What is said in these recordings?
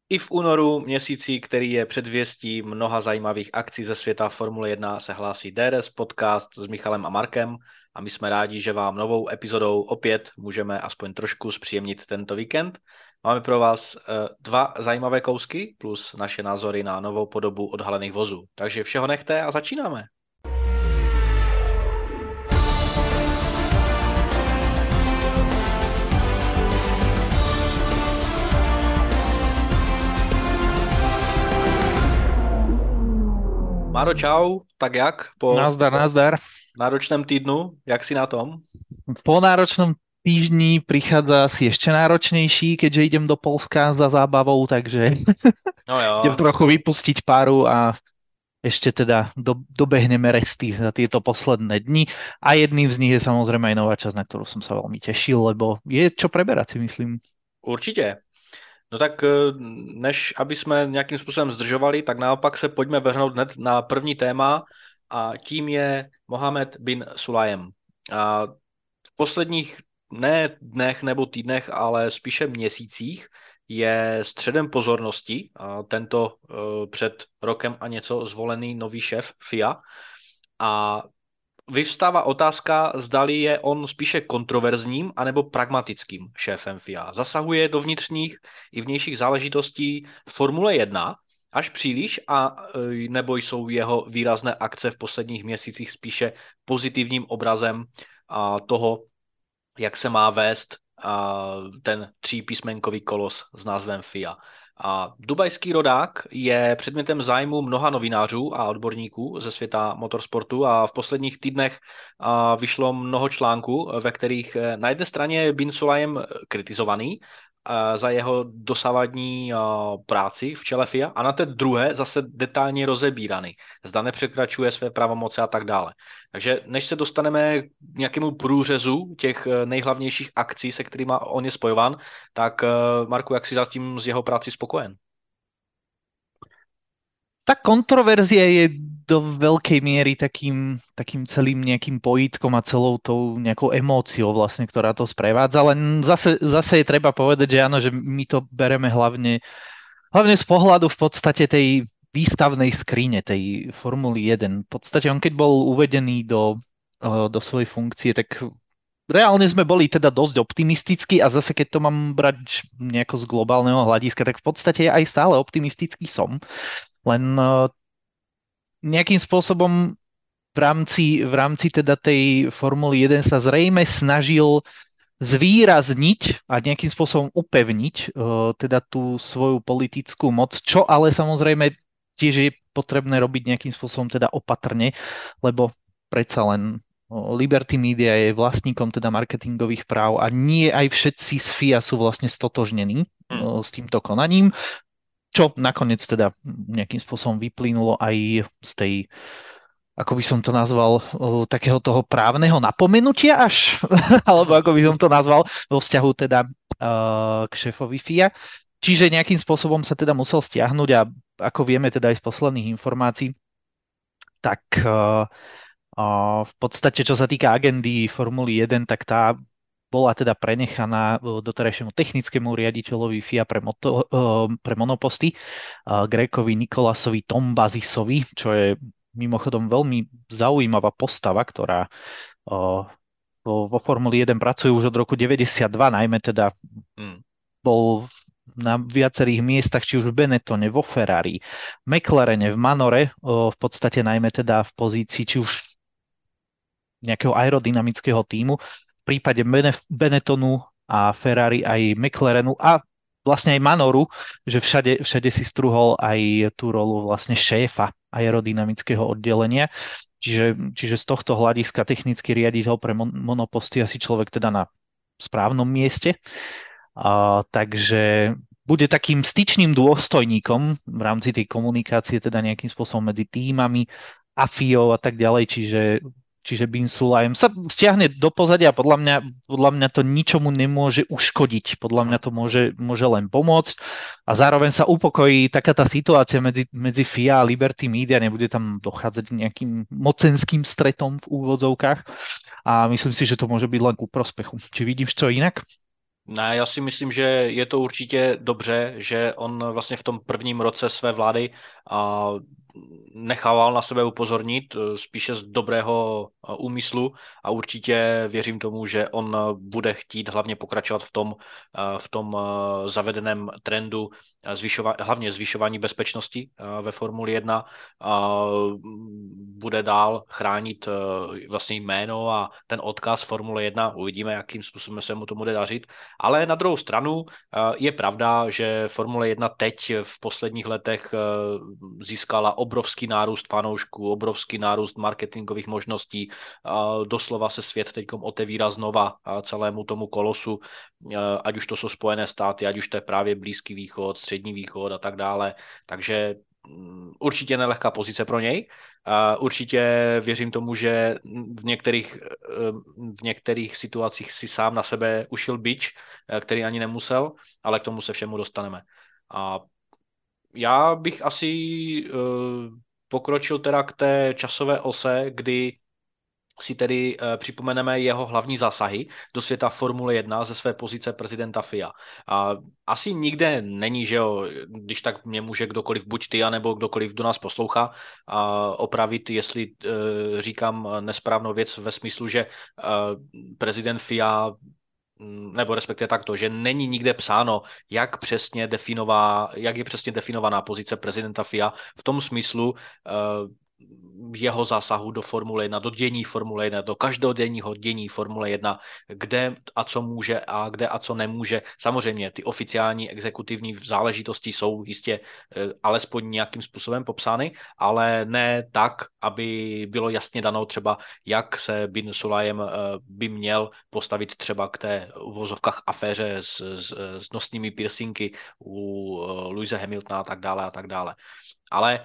I v únoru, měsíci, který je předvěstí mnoha zajímavých akcí ze světa Formule 1, se hlásí DRS podcast s Michalem a Markem a my jsme rádi, že vám novou epizodou opět můžeme aspoň trošku zpříjemnit tento víkend. Máme pro vás dva zajímavé kousky plus naše názory na novou podobu odhalených vozů. Takže všeho nechte a začínáme. Máro, čau, tak jak po Nazdar, nazdar. náročném týdnu, jak si na tom? Po náročnom týždni prichádza asi ešte náročnejší, keďže idem do Polska za zábavou, takže No idem jo, trochu vypustiť páru a ešte teda dobehneme resty za tieto posledné dni. A jedným z nich je samozrejme aj nová časť, na ktorú som sa veľmi tešil, lebo je čo preberať, si myslím. určitě. No tak než aby jsme nějakým způsobem zdržovali, tak naopak se pojďme vrhnout hned na první téma a tím je Mohamed bin Sulayem. A v posledních ne dnech nebo týdnech, ale spíše měsících je středem pozornosti tento před rokem a něco zvolený nový šéf FIA. A vyvstává otázka, zdali je on spíše kontroverzním anebo pragmatickým šéfem FIA. Zasahuje do vnitřních i vnějších záležitostí Formule 1 až příliš, nebo jsou jeho výrazné akce v posledních měsících spíše pozitivním obrazem toho, jak se má vést ten třípísmenkový kolos s názvem FIA. A dubajský rodák je předmětem zájmu mnoha novinářů a odborníků ze světa motorsportu a v posledních týdnech vyšlo mnoho článků, ve kterých na jedné straně je Bin Sulayem kritizovaný za jeho dosavadní práci v čele FIA a na té druhé zase detailně rozebíraný. Zda nepřekračuje své pravomoce a tak dále. Takže než se dostaneme k nějakému průřezu těch nejhlavnějších akcí, se kterými on je spojován, tak Marku, jak si zatím z jeho práci spokojen? Tá kontroverzia je do veľkej miery takým celým nejakým pojitkom a celou tou nejakou emóciou vlastne, ktorá to sprevádza. Len zase je treba povedať, že áno, že my to bereme hlavne z pohľadu v podstate tej výstavnej skrine, tej Formuly 1. V podstate on keď bol uvedený do svojej funkcie, tak reálne sme boli teda dosť optimistickí a zase keď to mám brať nejako z globálneho hľadiska, tak v podstate aj stále optimistický som. Len nejakým spôsobom v rámci teda tej Formuly 1 sa zrejme snažil zvýrazniť a nejakým spôsobom upevniť teda tú svoju politickú moc, čo ale samozrejme tiež je potrebné robiť nejakým spôsobom teda opatrne, lebo predsa len Liberty Media je vlastníkom teda marketingových práv a nie aj všetci z FIA sú vlastne stotožnení s týmto konaním, čo nakoniec teda nejakým spôsobom vyplynulo aj z tej, ako by som to nazval, takého toho právneho napomenutia až, alebo ako by som to nazval, vo vzťahu teda k šéfovi FIA. Čiže nejakým spôsobom sa teda musel stiahnuť a ako vieme teda aj z posledných informácií, tak v podstate, čo sa týka agendy Formuly 1, tak tá bola teda prenechaná doterajšiemu technickému riaditeľovi FIA pre monoposty, Grékovi Nikolasovi Tombazisovi, čo je mimochodom veľmi zaujímavá postava, ktorá vo Formuli 1 pracuje už od roku 92, najmä teda bol na viacerých miestach, či už v Benettone, vo Ferrari, McLarene, v Manore, v podstate najmä teda v pozícii či už nejakého aerodynamického tímu, v prípade Benettonu a Ferrari aj McLarenu a vlastne aj Manoru, že všade si strúhol aj tú rolu vlastne šéfa aerodynamického oddelenia. Čiže z tohto hľadiska technický riaditeľ pre monoposty asi človek teda na správnom mieste. Takže bude takým styčným dôstojníkom v rámci tej komunikácie, teda nejakým spôsobom medzi týmami a FIA a tak ďalej, čiže Bin Sulayem sa stiahne do pozadia a podľa mňa to ničomu nemôže uškodiť. Podľa mňa to môže len pomôcť a zároveň sa upokojí taká tá situácia medzi FIA a Liberty Media, nebude tam dochádzať k nejakým mocenským stretom v úvodzovkách a myslím si, že to môže byť len ku prospechu. Či vidíš to inak? Ne, já si myslím, že je to určitě dobře, že on vlastně v tom prvním roce své vlády a, nechával na sebe upozornit, spíše z dobrého úmyslu a určitě věřím tomu, že on bude chtít hlavně pokračovat v tom zavedeném trendu hlavně zvyšování bezpečnosti ve Formuli 1 a bude dál chránit vlastně jméno a ten odkaz Formule 1. Uvidíme, jakým způsobem se mu to bude dařit. Ale na druhou stranu je pravda, že Formule 1 teď v posledních letech získala obrovský nárůst fanoušků, obrovský nárůst marketingových možností. Doslova se svět teď otevírá znova celému tomu kolosu, ať už to jsou Spojené státy, ať už to je právě Blízký východ, Střední východ a tak dále. Takže určitě nelehká pozice pro něj. Určitě věřím tomu, že v některých situacích si sám na sebe ušil bič, který ani nemusel, ale k tomu se všemu dostaneme. A já bych asi pokročil teda k té časové ose, kdy si tedy připomeneme jeho hlavní zásahy do světa Formule 1 ze své pozice prezidenta FIA. A asi nikde není, že jo, když tak mě může kdokoliv, buď ty, anebo kdokoliv, kdo nás poslouchá, opravit, jestli říkám nesprávnou věc ve smyslu, že prezident FIA nebo respektive takto, že není nikde psáno, jak je přesně definovaná pozice prezidenta FIA v tom smyslu, jeho zásahu do Formule 1, do dění Formule 1, do každodenního dění Formule 1, kde a co může a kde a co nemůže. Samozřejmě ty oficiální exekutivní záležitosti jsou jistě alespoň nějakým způsobem popsány, ale ne tak, aby bylo jasně dano třeba, jak se Bin Sulayem by měl postavit třeba k té uvozovkách aféře s nosnými piercingy u Lewise Hamiltona a tak dále a tak dále. Ale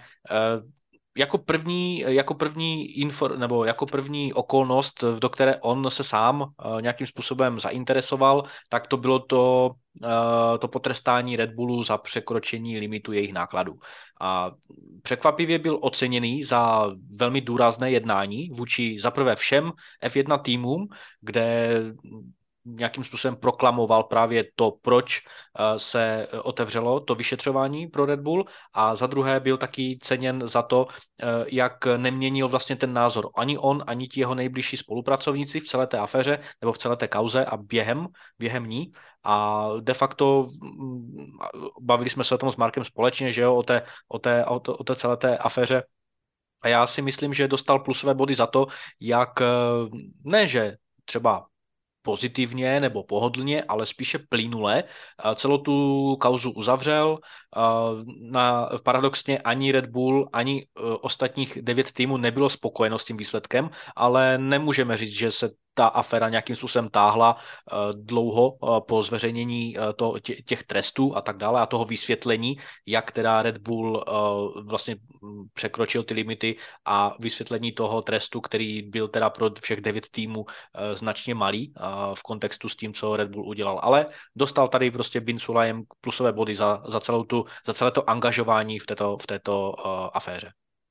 jako první okolnost, do které on se sám nějakým způsobem zainteresoval, tak to bylo to potrestání Red Bullu za překročení limitu jejich nákladů. A překvapivě byl oceněný za velmi důrazné jednání vůči zaprvé všem F1 týmům, kde nějakým způsobem proklamoval právě to, proč se otevřelo to vyšetřování pro Red Bull, a za druhé byl taky ceněn za to, jak neměnil vlastně ten názor ani on, ani ti jeho nejbližší spolupracovníci v celé té aféře nebo v celé té kauze a během ní. A de facto bavili jsme se o tom s Markem společně, že jo, o té celé té aféře. A já si myslím, že dostal plusové body za to, jak ne, že třeba pozitivně nebo pohodlně, ale spíše plynule celou tu kauzu uzavřel. Paradoxně ani Red Bull, ani ostatních 9 týmů nebylo spokojeno s tím výsledkem, ale nemůžeme říct, že se ta aféra nějakým způsobem táhla dlouho po zveřejnění těch trestů a tak dále a toho vysvětlení, jak teda Red Bull vlastně překročil ty limity a vysvětlení toho trestu, který byl teda pro všech 9 týmů značně malý v kontextu s tím, co Red Bull udělal. Ale dostal tady prostě Bin Sulayem plusové body za celé to angažování v této aféře.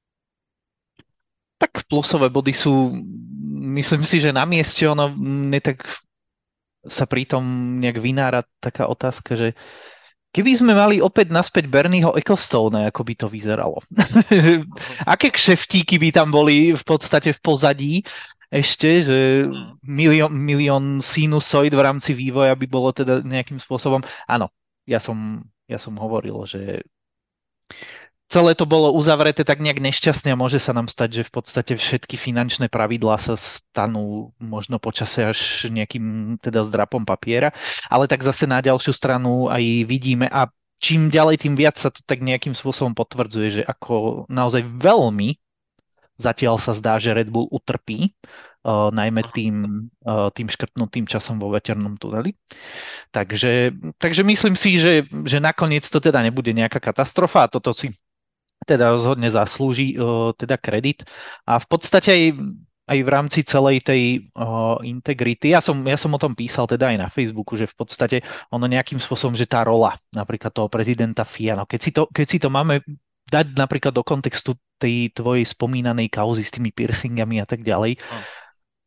Tak plusové body sú, myslím si, že na mieste ono tak sa pritom nejak vynára taká otázka, že keby sme mali opäť naspäť Bernieho Ecclestone, ako by to vyzeralo. Aké kšeftíky by tam boli v podstate v pozadí ešte, že milión sinusoid v rámci vývoja by bolo teda nejakým spôsobom. Áno, ja som hovoril, že celé to bolo uzavreté tak nejak nešťastne a môže sa nám stať, že v podstate všetky finančné pravidlá sa stanú možno počase až nejakým teda zdrapom papiera, ale tak zase na ďalšiu stranu aj vidíme a čím ďalej, tým viac sa to tak nejakým spôsobom potvrdzuje, že ako naozaj veľmi zatiaľ sa zdá, že Red Bull utrpí, najmä tým škrtnutým časom vo veternom tuneli. Takže myslím si, že nakoniec to teda nebude nejaká katastrofa a toto si teda rozhodne zaslúži teda kredit. A v podstate aj v rámci celej tej integrity, ja som o tom písal teda aj na Facebooku, že v podstate ono nejakým spôsobom, že tá rola napríklad toho prezidenta FIA, no keď si to máme dať napríklad do kontextu tej tvojej spomínanej kauzy s tými piercingami a tak ďalej,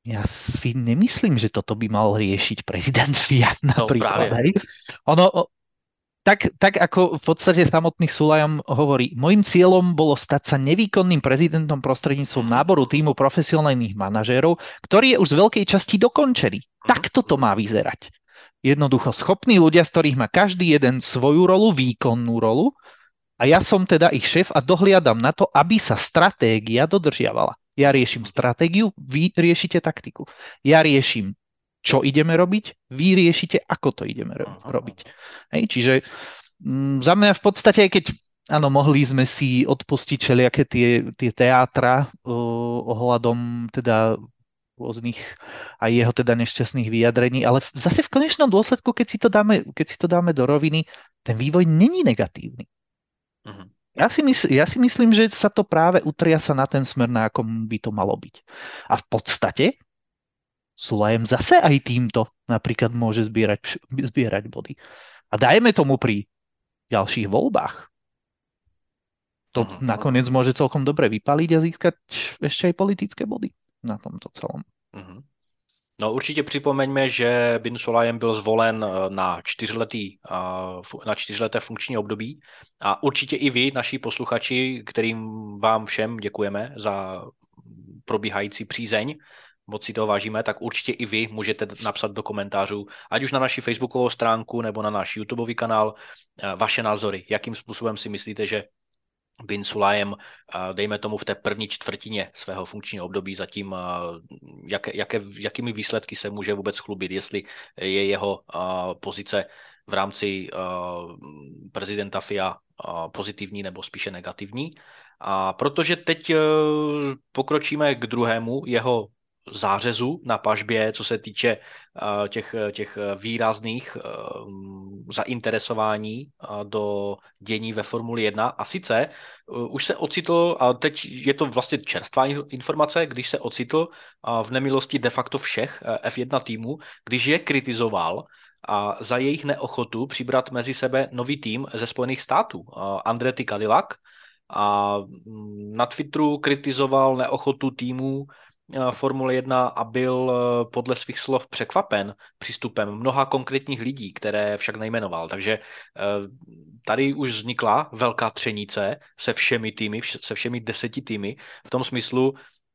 Ja si nemyslím, že toto by mal riešiť prezident Fiat No napríklad. právě. Hej. Ono, tak ako v podstate samotný Sulajom hovorí, môjim cieľom bolo stať sa nevýkonným prezidentom prostredníctvom Mhm, náboru týmu profesionálnych manažérov, ktorý je už z veľkej časti dokončený. mhm, Takto to má vyzerať. Jednoducho schopní ľudia, z ktorých má každý jeden svoju rolu, výkonnú rolu, a ja som teda ich šéf a dohliadam na to, aby sa stratégia dodržiavala. Ja riešim stratégiu, vy riešite taktiku. Ja riešim, čo ideme robiť, vy riešite, ako to ideme mhm. robiť. Hej, čiže za mňa v podstate, aj keď áno, mohli sme si odpustiť všelijaké tie teátra ohľadom teda rôznych aj jeho teda nešťastných vyjadrení, ale zase v konečnom dôsledku, keď si to dáme do roviny, ten vývoj není negatívny. Mhm. Ja si myslím, že sa to práve utriasa na ten smer, na akom by to malo byť. A v podstate Sulajem zase aj týmto napríklad môže zbierať body. A dajme tomu pri ďalších voľbách. To Mhm. nakoniec môže celkom dobre vypaliť a získať ešte aj politické body na tomto celom. Mhm. No určitě připomeňme, že Bin Sulayem byl zvolen na čtyřleté funkční období a určitě i vy, naši posluchači, kterým vám všem děkujeme za probíhající přízeň, moc si toho vážíme, tak určitě i vy můžete napsat do komentářů, ať už na naši facebookovou stránku nebo na náš YouTubeový kanál, vaše názory, jakým způsobem si myslíte, že Bin Sulayem, dejme tomu v té první čtvrtině svého funkčního období zatím, jakými výsledky se může vůbec chlubit, jestli je jeho pozice v rámci prezidenta FIA pozitivní nebo spíše negativní. A protože teď pokročíme k druhému jeho zářezu na pažbě, co se týče těch výrazných zainteresování do dění ve Formuli 1. A sice už se ocitl, a teď je to vlastně čerstvá informace, když se ocitl v nemilosti de facto všech F1 týmů, když je kritizoval a za jejich neochotu přibrat mezi sebe nový tým ze Spojených států, Andretti Cadillac, a na Twitteru kritizoval neochotu týmů Formule 1 a byl podle svých slov překvapen přístupem mnoha konkrétních lidí, které však nejmenoval. Takže tady už vznikla velká třenice se všemi týmy, se všemi 10 týmy, v tom smyslu,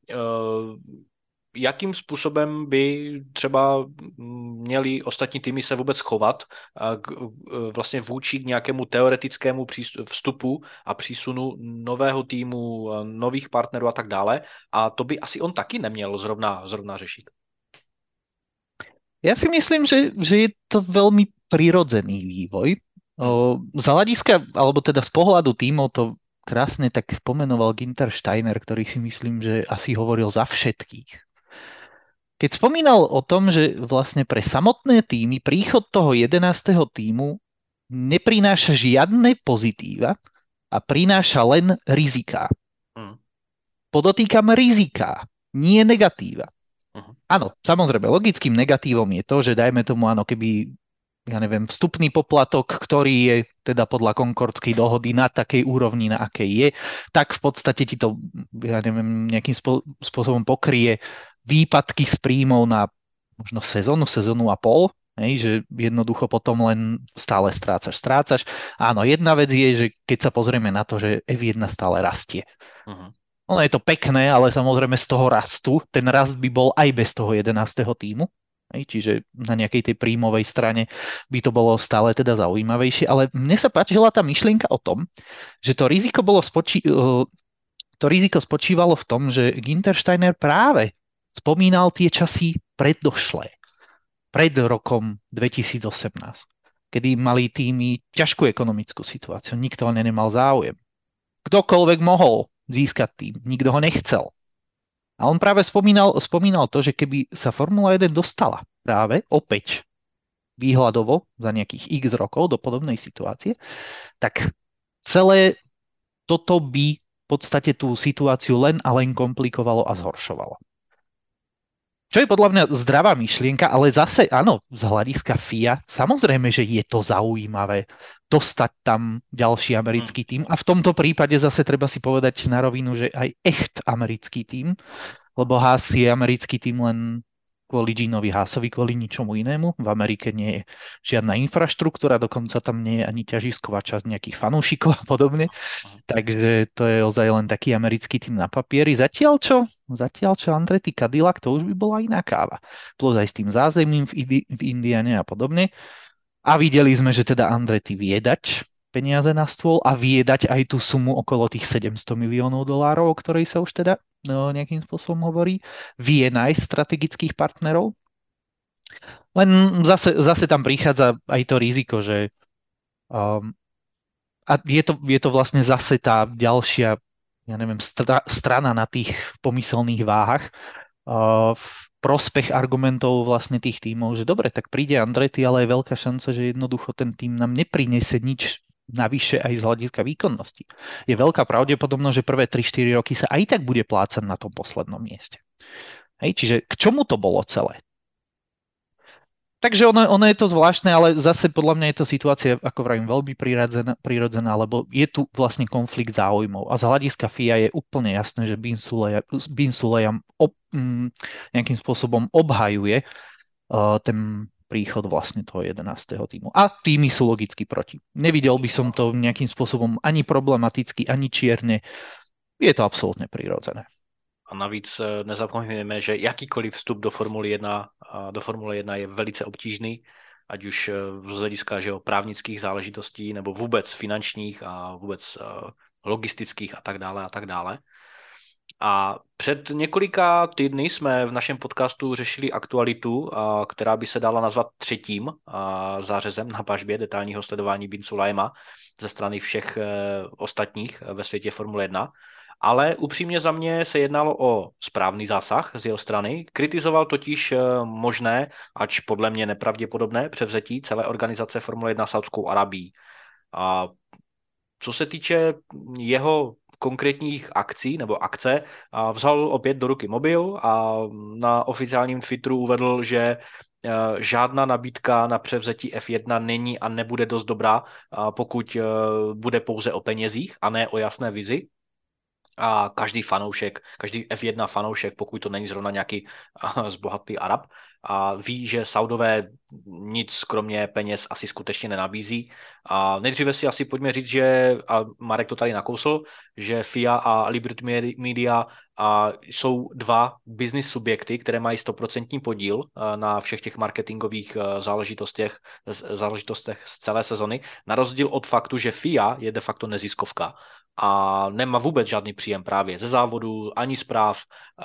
jakým způsobem by třeba měli ostatní týmy se vůbec chovat vlastně vůči k nějakému teoretickému vstupu a přísunu nového týmu, nových partnerů a tak dále. A to by asi on taky neměl zrovna řešit. Ja si myslím, že je to veľmi prirodzený vývoj. Z hľadiska, alebo teda z pohľadu tímov to krásne tak pomenoval Günther Steiner, ktorý si myslím, že asi hovoril za všetkých. Keď spomínal o tom, že vlastne pre samotné týmy príchod toho 11. týmu neprináša žiadne pozitíva a prináša len riziká. Podotýkam riziká, nie negatíva. Áno, samozrejme, logickým negatívom je to, že dajme tomu, áno, keby, ja neviem, vstupný poplatok, ktorý je teda podľa Concordskej dohody na takej úrovni, na akej je, tak v podstate ti to, ja neviem, nejakým spôsobom pokrie výpadky z príjmov na možno sezónu a pol, že jednoducho potom len stále strácaš. Áno, jedna vec je, že keď sa pozrieme na to, že F1 stále rastie. Ono je to pekné, ale samozrejme z toho rastu, ten rast by bol aj bez toho 11. týmu, čiže na nejakej tej príjmovej strane by to bolo stále teda zaujímavejšie, ale mne sa páčila tá myšlienka o tom, že to riziko spočívalo v tom, že Günther Steiner práve spomínal tie časy predošlé, pred rokom 2018, kedy mali týmy ťažkú ekonomickú situáciu, nikto o ne nemal záujem. Kdokoľvek mohol získať tým, nikto ho nechcel. A on práve spomínal to, že keby sa Formula 1 dostala práve opäť výhľadovo za nejakých x rokov do podobnej situácie, tak celé toto by v podstate tú situáciu len a len komplikovalo a zhoršovalo. Čo je podľa mňa zdravá myšlienka, ale zase áno, z hľadiska FIA, samozrejme, že je to zaujímavé dostať tam ďalší americký tím a v tomto prípade zase treba si povedať na rovinu, že aj echt americký tím, lebo Haas je americký tým len kvôli Ginovi Haasovi, kvôli ničomu inému. V Amerike nie je žiadna infraštruktúra, dokonca tam nie je ani ťažisková časť nejakých fanúšikov a podobne. Takže to je ozaj len taký americký tým na papieri. Zatiaľ čo Andretti Cadillac, to už by bola iná káva. Plus aj s tým zázemím v Indiane a podobne. A videli sme, že teda Andretti vie dať peniaze na stôl a vie dať aj tú sumu okolo tých $700 miliónov, o ktorej sa už teda nejakým spôsobom hovorí. Vie nájsť strategických partnerov. Len zase tam prichádza aj to riziko, že a je to vlastne zase tá ďalšia, ja neviem, strana na tých pomyselných váhach v prospech argumentov vlastne tých tímov, že dobre, tak príde Andretti, ale je veľká šanca, že jednoducho ten tím nám neprinese nič navyše aj z hľadiska výkonnosti. Je veľká pravdepodobnosť, že prvé 3-4 roky sa aj tak bude plácať na tom poslednom mieste. Hej, čiže k čomu to bolo celé? Takže ono je to zvláštne, ale zase podľa mňa je to situácia, ako vravím, veľmi prirodzená, lebo je tu vlastne konflikt záujmov. A z hľadiska FIA je úplne jasné, že Bin Sulayem nejakým spôsobom obhajuje ten príchod vlastne toho 11. týmu. A týmy sú logicky proti. Nevidel by som to nejakým spôsobom ani problematicky, ani čierne. Je to absolútne prirodzené. A navíc nezapomínáme, že jakýkoliv vstup do Formule 1 je velice obtížný, ať už z hlediska právnických záležitostí, nebo vůbec finančních a vůbec logistických a tak dále a tak dále. A před několika týdny jsme v našem podcastu řešili aktualitu, která by se dala nazvat třetím zářezem na pažbě detailního sledování Bin Sulayema ze strany všech ostatních ve světě Formule 1. Ale upřímně za mě se jednalo o správný zásah z jeho strany. Kritizoval totiž možné, ač podle mě nepravděpodobné, převzetí celé organizace Formule 1 Saudskou Arabií. A co se týče jeho konkrétních akcí nebo akce, vzal opět do ruky mobil a na oficiálním Twitteru uvedl, že žádná nabídka na převzetí F1 není a nebude dost dobrá, pokud bude pouze o penězích a ne o jasné vizi. A každý F1 fanoušek, pokud to není zrovna nějaký zbohatlý Arab, a ví, že Saudové nic kromě peněz asi skutečně nenabízí. A nejdříve si asi pojďme říct, že, a Marek to tady nakousl, že FIA a Liberty Media jsou dva business subjekty, které mají 100% podíl na všech těch marketingových záležitostech z celé sezony, na rozdíl od faktu, že FIA je de facto neziskovka a nemá vůbec žádný příjem právě ze závodu, ani zpráv,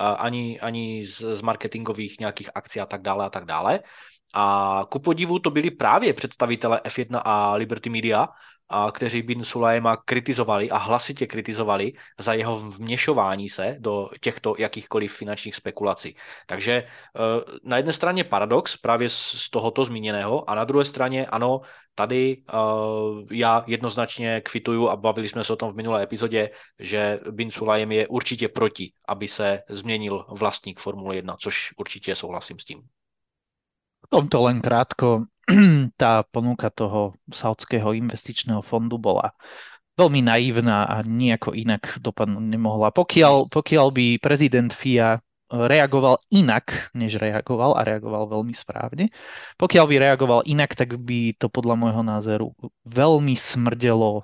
ani z marketingových nějakých akcí a tak dále a tak dále. A ku podivu to byli právě představitelé F1 a Liberty Media, kteří Bin Sulayema kritizovali a hlasitě kritizovali za jeho vměšování se do těchto jakýchkoliv finančních spekulací. Takže na jedné straně paradox právě z tohoto zmíněného a na druhé straně ano, tady já jednoznačně kvituju a bavili jsme se o tom v minulé epizodě, že Bin Sulayem je určitě proti, aby se změnil vlastník Formule 1, což určitě souhlasím s tím. V tomto len krátko, tá ponuka toho saudského investičného fondu bola veľmi naivná a nejako inak dopadnúť nemohla. Pokiaľ by prezident FIA reagoval inak, než reagoval, a reagoval veľmi správne, pokiaľ by reagoval inak, tak by to podľa môjho názoru veľmi smrdelo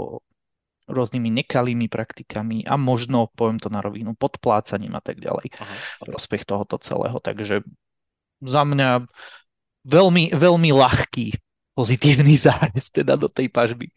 rôznymi nekalými praktikami a možno, poviem to na rovinu, podplácaním a tak ďalej. Prospech tohoto celého. Takže za mňa veľmi, veľmi ľahký pozitívny zárez teda do tej pažby.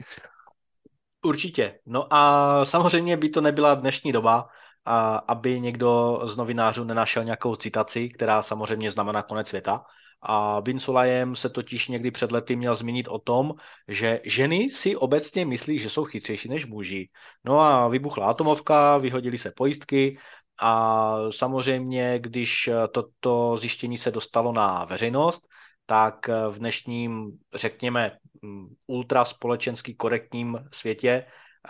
Určitě. No a samozřejmě by to nebyla dnešní doba, aby někdo z novinářů nenašel nějakou citaci, která samozřejmě znamená konec světa. A Bin Sulayem se totiž někdy před lety měl zmínit o tom, že ženy si obecně myslí, že jsou chytřejší než muži. No a vybuchla atomovka, vyhodily se pojistky a samozřejmě, když toto zjištění se dostalo na veřejnost, tak v dnešním, řekněme, ultraspolečensky korektním světě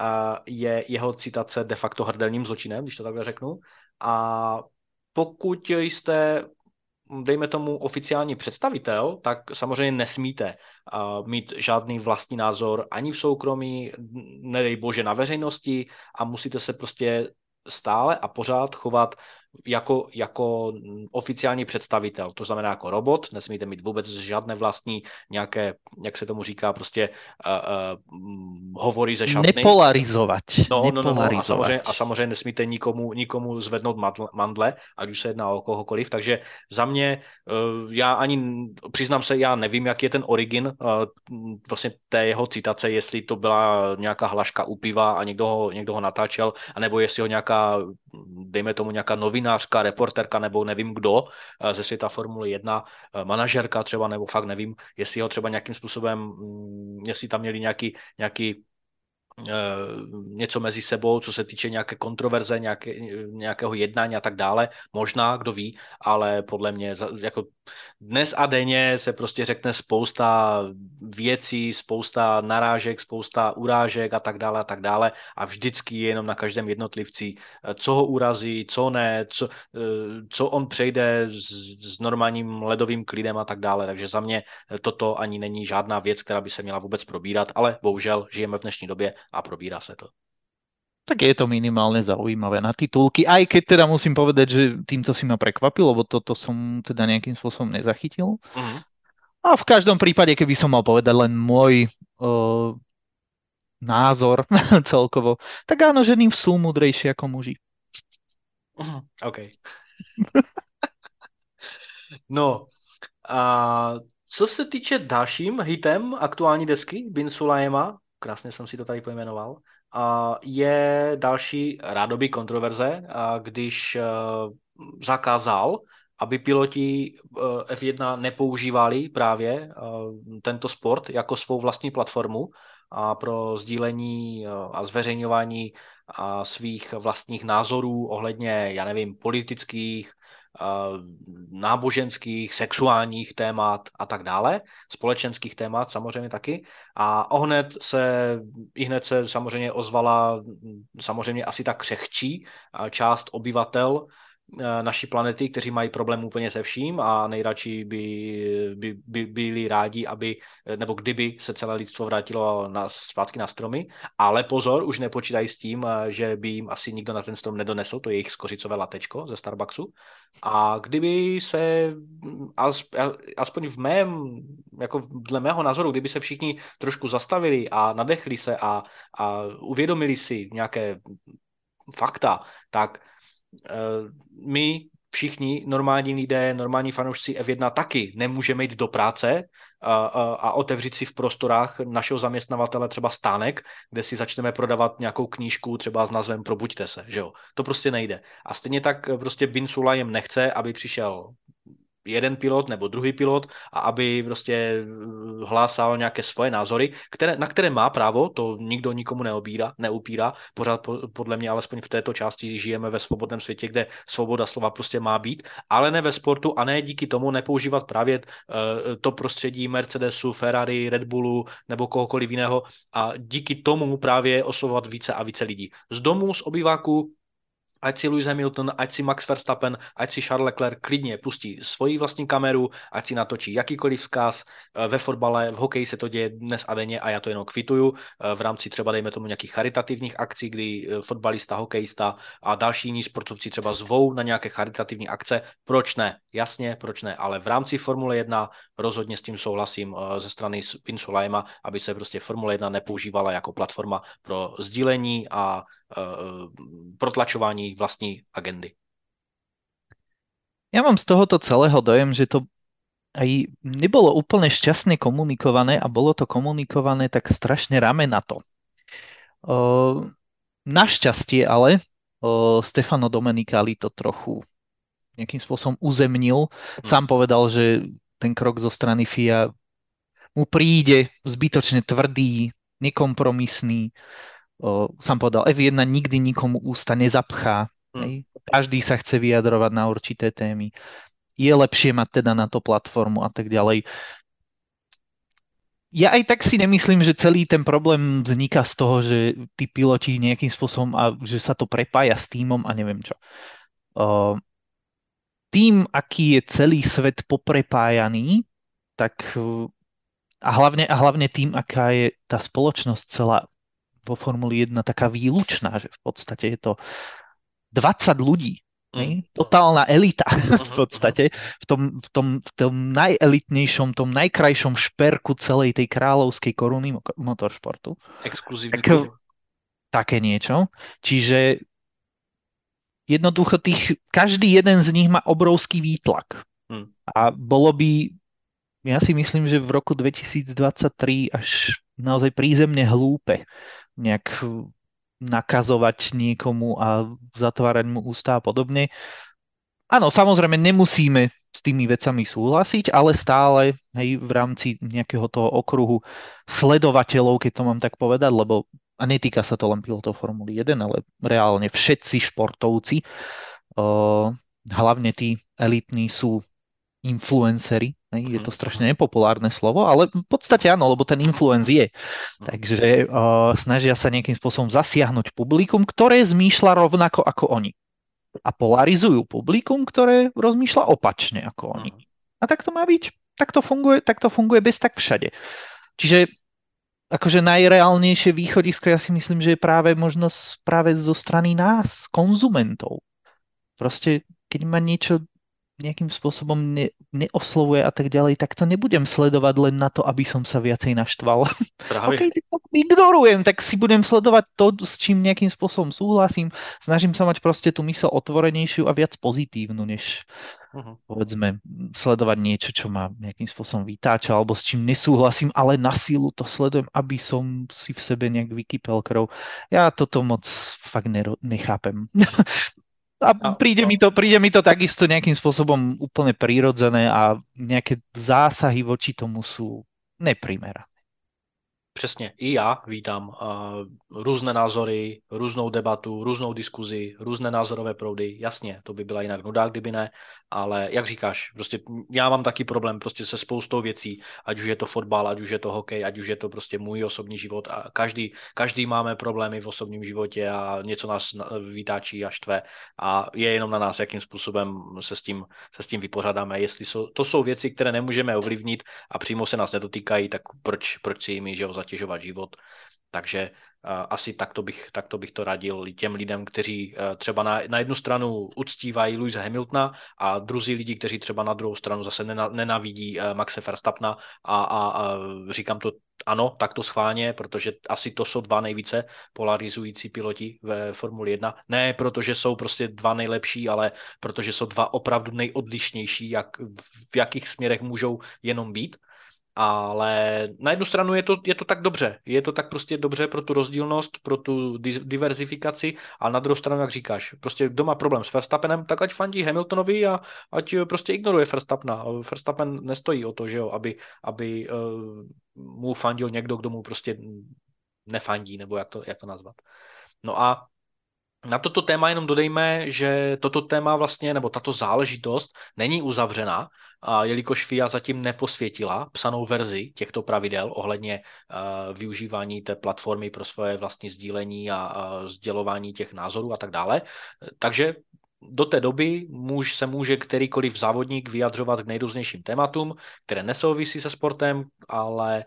je jeho citace de facto hrdelním zločinem, když to takhle řeknu. A pokud jste, dejme tomu, oficiální představitel, tak samozřejmě nesmíte mít žádný vlastní názor ani v soukromí, nedej bože na veřejnosti a musíte se prostě stále a pořád chovat jako oficiální představitel, to znamená jako robot, nesmíte mít vůbec žádné vlastní nějaké, jak se tomu říká, prostě hovory ze šatny. Nepolarizovať. No, Nepolarizovať. a samozřejmě nesmíte nikomu zvednout mandle, ať už se jedná o kohokoliv, takže za mě, já ani, přiznám se, já nevím, jaký je ten origin vlastně té jeho citace, jestli to byla nějaká hlaška u piva a někdo ho natáčel, anebo jestli ho nějaká, dejme tomu nějaká novinářka, reporterka, nebo nevím kdo ze světa Formule 1, manažerka třeba, nebo fakt nevím, jestli ho třeba nějakým způsobem, jestli tam měli nějaký něco mezi sebou, co se týče nějaké kontroverze, nějakého jednání a tak dále. Možná, kdo ví, ale podle mě jako dnes a denně se prostě řekne spousta věcí, spousta narážek, spousta urážek a tak dále a vždycky je jenom na každém jednotlivci, co ho urazí, co ne, co on přejde s normálním ledovým klidem a tak dále. Takže za mě toto ani není žádná věc, která by se měla vůbec probírat, ale bohužel žijeme v dnešní době a probírá se to. Tak je to minimálne zaujímavé na titulky, aj keď teda musím povedať, že týmto si ma prekvapil, lebo toto som teda nejakým spôsobom nezachytil. Mm-hmm. A v každom prípade, keby som mal povedať len môj názor celkovo, tak áno, ženy sú múdrejšie ako muži. OK. No, a co se týče dalším hitem aktuální desky Bin Sulayema, krásně jsem si to tady pojmenoval, je další rádoby kontroverze, když zakázal, aby piloti F1 nepoužívali právě tento sport jako svou vlastní platformu a pro sdílení a zveřejňování svých vlastních názorů ohledně, já nevím, politických, náboženských, sexuálních témat a tak dále, společenských témat samozřejmě taky. A hned se samozřejmě ozvala samozřejmě asi tak křehčí část obyvatel naší planety, kteří mají problém úplně se vším a nejradši by byli rádi, nebo kdyby se celé lidstvo vrátilo zpátky na stromy. Ale pozor, už nepočítají s tím, že by jim asi nikdo na ten strom nedonesl, to je jejich skořicové latečko ze Starbucksu. A kdyby se, aspoň jako dle mého názoru, kdyby se všichni trošku zastavili a nadechli se a uvědomili si nějaké fakta, tak my všichni normální lidé, normální fanoušci F1 taky nemůžeme jít do práce a otevřít si v prostorách našeho zaměstnavatele třeba stánek, kde si začneme prodávat nějakou knížku třeba s názvem Probuďte se, že jo. To prostě nejde. A stejně tak prostě Bin Sulayem nechce, aby přišel jeden pilot nebo druhý pilot a aby prostě hlásal nějaké svoje názory, na které má právo, to nikdo nikomu neupírá. Pořád podle mě alespoň v této části žijeme ve svobodném světě, kde svoboda slova prostě má být, ale ne ve sportu a ne díky tomu nepoužívat právě to prostředí Mercedesu, Ferrari, Red Bullu nebo kohokoliv jiného a díky tomu právě oslovovat více a více lidí. Z domu, z obýváku, ať si Lewis Hamilton, ať si Max Verstappen, ať si Charles Leclerc klidně pustí svoji vlastní kameru, ať si natočí jakýkoliv vzkaz. Ve fotbale, v hokeji se to děje dnes a denně a já to jenom kvituju. V rámci třeba dejme tomu nějakých charitativních akcí, kdy fotbalista, hokejista a další jiní sportovci třeba zvou na nějaké charitativní akce. Proč ne? Jasně, proč ne? Ale v rámci Formule 1 rozhodně s tím souhlasím ze strany Bin Sulayema, aby se prostě Formule 1 nepoužívala jako platforma pro sdílení a protlačování vlastní agendy. Ja mám z tohoto celého dojem, že to aj nebolo úplne šťastne komunikované a bolo to komunikované tak strašne rame na to. Našťastie ale Stefano Domenicali to trochu nejakým spôsobom uzemnil. Sám povedal, že ten krok zo strany FIA mu príde zbytočne tvrdý, nekompromisný. Sám povedal, F1 nikdy nikomu ústa nezapchá. Každý sa chce vyjadrovať na určité témy. Je lepšie mať teda na to platformu a tak ďalej. Ja aj tak si nemyslím, že celý ten problém vzniká z toho, že tí piloti nejakým spôsobom a že sa to prepája s tímom a neviem čo. Tým, aký je celý svet poprepájaný, tak a hlavne tým, aká je tá spoločnosť celá vo Formuli 1 taká výlučná, že v podstate je to 20 ľudí, Totálna elita v Mhm. Mhm. podstate, v tom najelitnejšom, tom najkrajšom šperku celej tej kráľovskej koruny motoršportu. Exkluzívny Tak klub. také niečo. Čiže jednoducho každý jeden z nich má obrovský výtlak. Hm. A bolo by, ja si myslím, že v roku 2023 až naozaj prízemne hlúpe nejak nakazovať niekomu a zatvárať mu ústa a podobne. Áno, samozrejme nemusíme s tými vecami súhlasiť, ale stále hej, v rámci nejakého toho okruhu sledovateľov, keď to mám tak povedať, lebo a netýka sa to len pilotov Formuly 1, ale reálne všetci športovci, hlavne tí elitní sú influenceri. Je to Mhm. strašne Mhm. nepopulárne slovo, ale v podstate áno, lebo ten Mhm. influence Mhm. je. Mhm. Takže snažia sa nejakým spôsobom zasiahnuť publikum, ktoré zmýšľa rovnako ako oni. A polarizujú publikum, ktoré rozmýšľa opačne ako oni. Mhm. A tak to má byť. Tak to funguje bez tak všade. Čiže akože najreálnejšie východisko ja si myslím, že je práve možnosť práve zo strany nás, konzumentov. Proste, keď ma niečo nejakým spôsobom neoslovuje a tak ďalej, tak to nebudem sledovať len na to, aby som sa viacej naštval. OK, Právě. tak to ignorujem, tak si budem sledovať to, s čím nejakým spôsobom súhlasím. Snažím sa mať proste tú mysel otvorenejšiu a viac pozitívnu, než Mhm. povedzme sledovať niečo, čo ma nejakým spôsobom vytáča, alebo s čím nesúhlasím, ale na sílu to sledujem, aby som si v sebe nejak vykypel krv. Ja toto moc fakt nechápem. A A, no. príde mi to takisto nejakým spôsobom úplne prírodzené a nejaké zásahy voči tomu sú neprimerané. Přesně, i já vítám různé názory, různou debatu, různou diskuzi, různé názorové proudy. Jasně, to by byla jinak nuda, kdyby ne, ale jak říkáš, prostě já mám taky problém prostě se spoustou věcí, ať už je to fotbal, ať už je to hokej, ať už je to prostě můj osobní život a každý máme problémy v osobním životě a něco nás vytáčí a štve a je jenom na nás, jakým způsobem se s tím vypořádáme. Jestli to jsou věci, které nemůžeme ovlivnit a přímo se nás nedotýkají, tak proč si jimi, že jo, zatěžovat život. Takže asi takto bych to radil těm lidem, kteří třeba na jednu stranu uctívají Lewise Hamiltona a druzí lidi, kteří třeba na druhou stranu zase nenávidí Maxe Verstappena a říkám to ano, takto schválně, protože asi to jsou dva nejvíce polarizující piloti ve Formuli 1. Ne protože jsou prostě dva nejlepší, ale protože jsou dva opravdu nejodlišnější, v jakých směrech můžou jenom být. Ale na jednu stranu je to tak dobře. Je to tak prostě dobře pro tu rozdílnost, pro tu diverzifikaci, a na druhou stranu, jak říkáš, prostě kdo má problém s Verstappenem, tak ať fandí Hamiltonovi a ať prostě ignoruje Verstappena. Verstappen nestojí o to, že jo, aby mu fandil někdo, kdo mu prostě nefandí, nebo jak to nazvat. No a na toto téma jenom dodejme, že toto téma vlastně, nebo tato záležitost není uzavřena, jelikož FIA zatím neposvětila psanou verzi těchto pravidel ohledně využívání té platformy pro svoje vlastní sdílení a sdělování těch názorů a tak dále. Takže do té doby se může kterýkoliv závodník vyjadřovat k nejrůznějším tématům, které nesouvisí se sportem, ale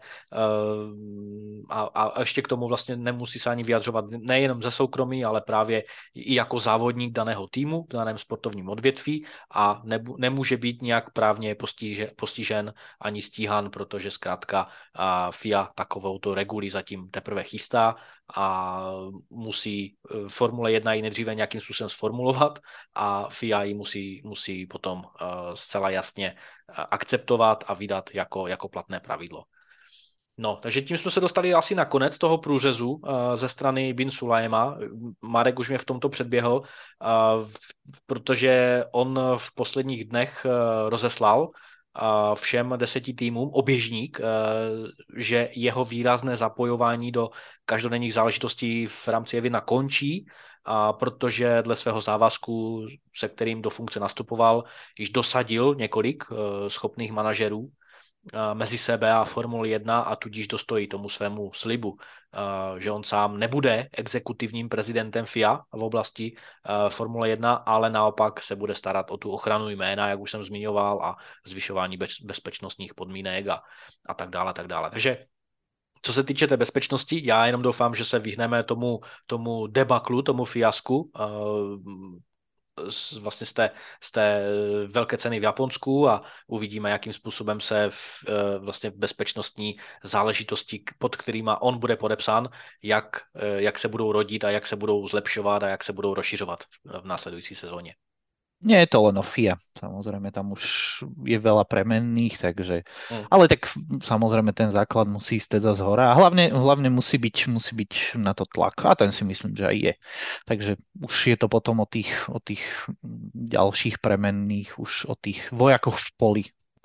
a ještě k tomu vlastně nemusí se ani vyjadřovat nejenom ze soukromí, ale právě i jako závodník daného týmu v daném sportovním odvětví a nemůže být nějak právně postižen ani stíhan, protože zkrátka FIA takovouto reguli zatím teprve chystá a musí Formule 1 ji nejdříve nějakým způsobem sformulovat a FIA ji musí potom zcela jasně akceptovat a vydat jako platné pravidlo. No, takže tím jsme se dostali asi na konec toho průřezu ze strany Bin Sulayema. Marek už mě v tomto předběhl, protože on v posledních dnech rozeslal všem 10 týmům oběžník, že jeho výrazné zapojování do každodenních záležitostí v rámci F1 končí, protože dle svého závazku, se kterým do funkce nastupoval, již dosadil několik schopných manažerů mezi sebe a Formuli 1 a tudíž dostojí tomu svému slibu, že on sám nebude exekutivním prezidentem FIA v oblasti Formule 1, ale naopak se bude starat o tu ochranu jména, jak už jsem zmiňoval, a zvyšování bezpečnostních podmínek a tak dále, tak dále. Takže co se týče té bezpečnosti, já jenom doufám, že se vyhneme tomu debaklu, tomu fiasku vlastně z té velké ceny v Japonsku a uvidíme, jakým způsobem se vlastně bezpečnostní záležitosti, pod kterýma on bude podepsán, jak se budou rodit a jak se budou zlepšovat a jak se budou rozšiřovat v následující sezóně. Nie je to len o FIA, samozrejme tam už je veľa premenných, takže, Hmm. ale tak samozrejme ten základ musí ísť teda z hora a hlavne musí byť na to tlak a ten si myslím, že aj je. Takže už je to potom o tých ďalších premenných, už o tých vojakoch v poli.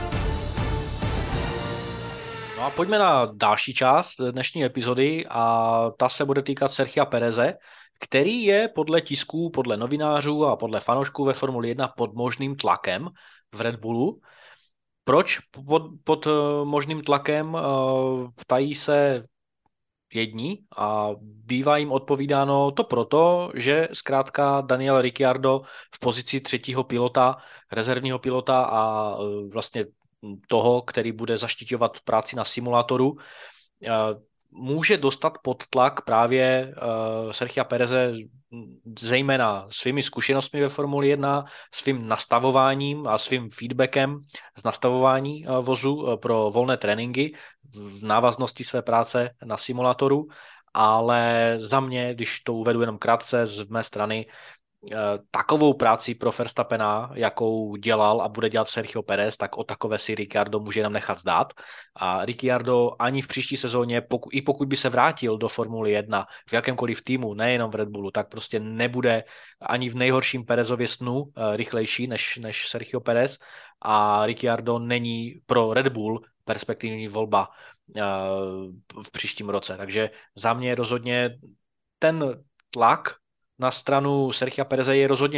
No a pojďme na další část dnešní epizody a ta se bude týkat Sergia Pereze, který je podle tisků, podle novinářů a podle fanoušků ve Formuli 1 pod možným tlakem v Red Bullu. Proč pod možným tlakem? Ptají se jedni a bývá jim odpovídáno to proto, že zkrátka Daniel Ricciardo v pozici třetího pilota, rezervního pilota a vlastně toho, který bude zaštiťovat práci na simulátoru, může dostat pod tlak právě Sergia Pereze zejména svými zkušenostmi ve Formuli 1, svým nastavováním a svým feedbackem z nastavování vozu pro volné tréninky v návaznosti své práce na simulátoru, ale za mě, když to uvedu jenom krátce z mé strany, takovou práci pro Verstappena, jakou dělal a bude dělat Sergio Perez, tak o takové si Ricciardo může jenom nechat zdát. A Ricciardo ani v příští sezóně, i pokud by se vrátil do Formuly 1 v jakémkoliv týmu, nejenom v Red Bullu, tak prostě nebude ani v nejhorším Perezově snu rychlejší než Sergio Perez. A Ricciardo není pro Red Bull perspektivní volba v příštím roce. Takže za mě rozhodně ten tlak na stranu Sergia Pereze je rozhodně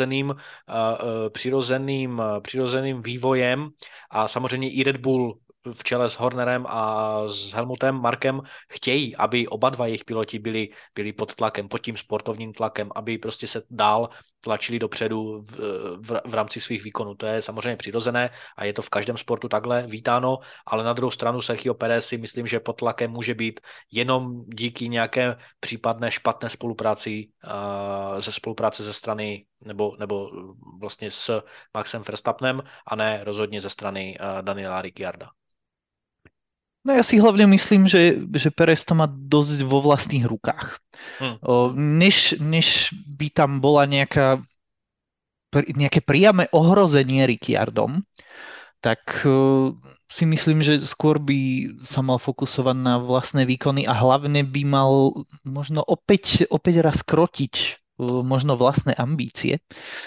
přirozeným vývojem a samozřejmě i Red Bull v čele s Hornerem a s Helmutem Markem chtějí, aby oba dva jejich piloti byli pod tlakem, pod tím sportovním tlakem, aby prostě se dál tlačili dopředu v rámci svých výkonů. To je samozřejmě přirozené a je to v každém sportu takhle vítáno, ale na druhou stranu Sergio Perez si myslím, že pod tlakem může být jenom díky nějaké případné špatné spolupráci ze strany nebo vlastně s Maxem Verstappenem a ne rozhodně ze strany Daniela Ricciarda. No ja si hlavne myslím, že Perez to má dosť vo vlastných rukách. Než by tam bola nejaké priame ohrozenie Ricciardom, tak si myslím, že skôr by sa mal fokusovať na vlastné výkony a hlavne by mal možno opäť raz krotiť možno vlastné ambície,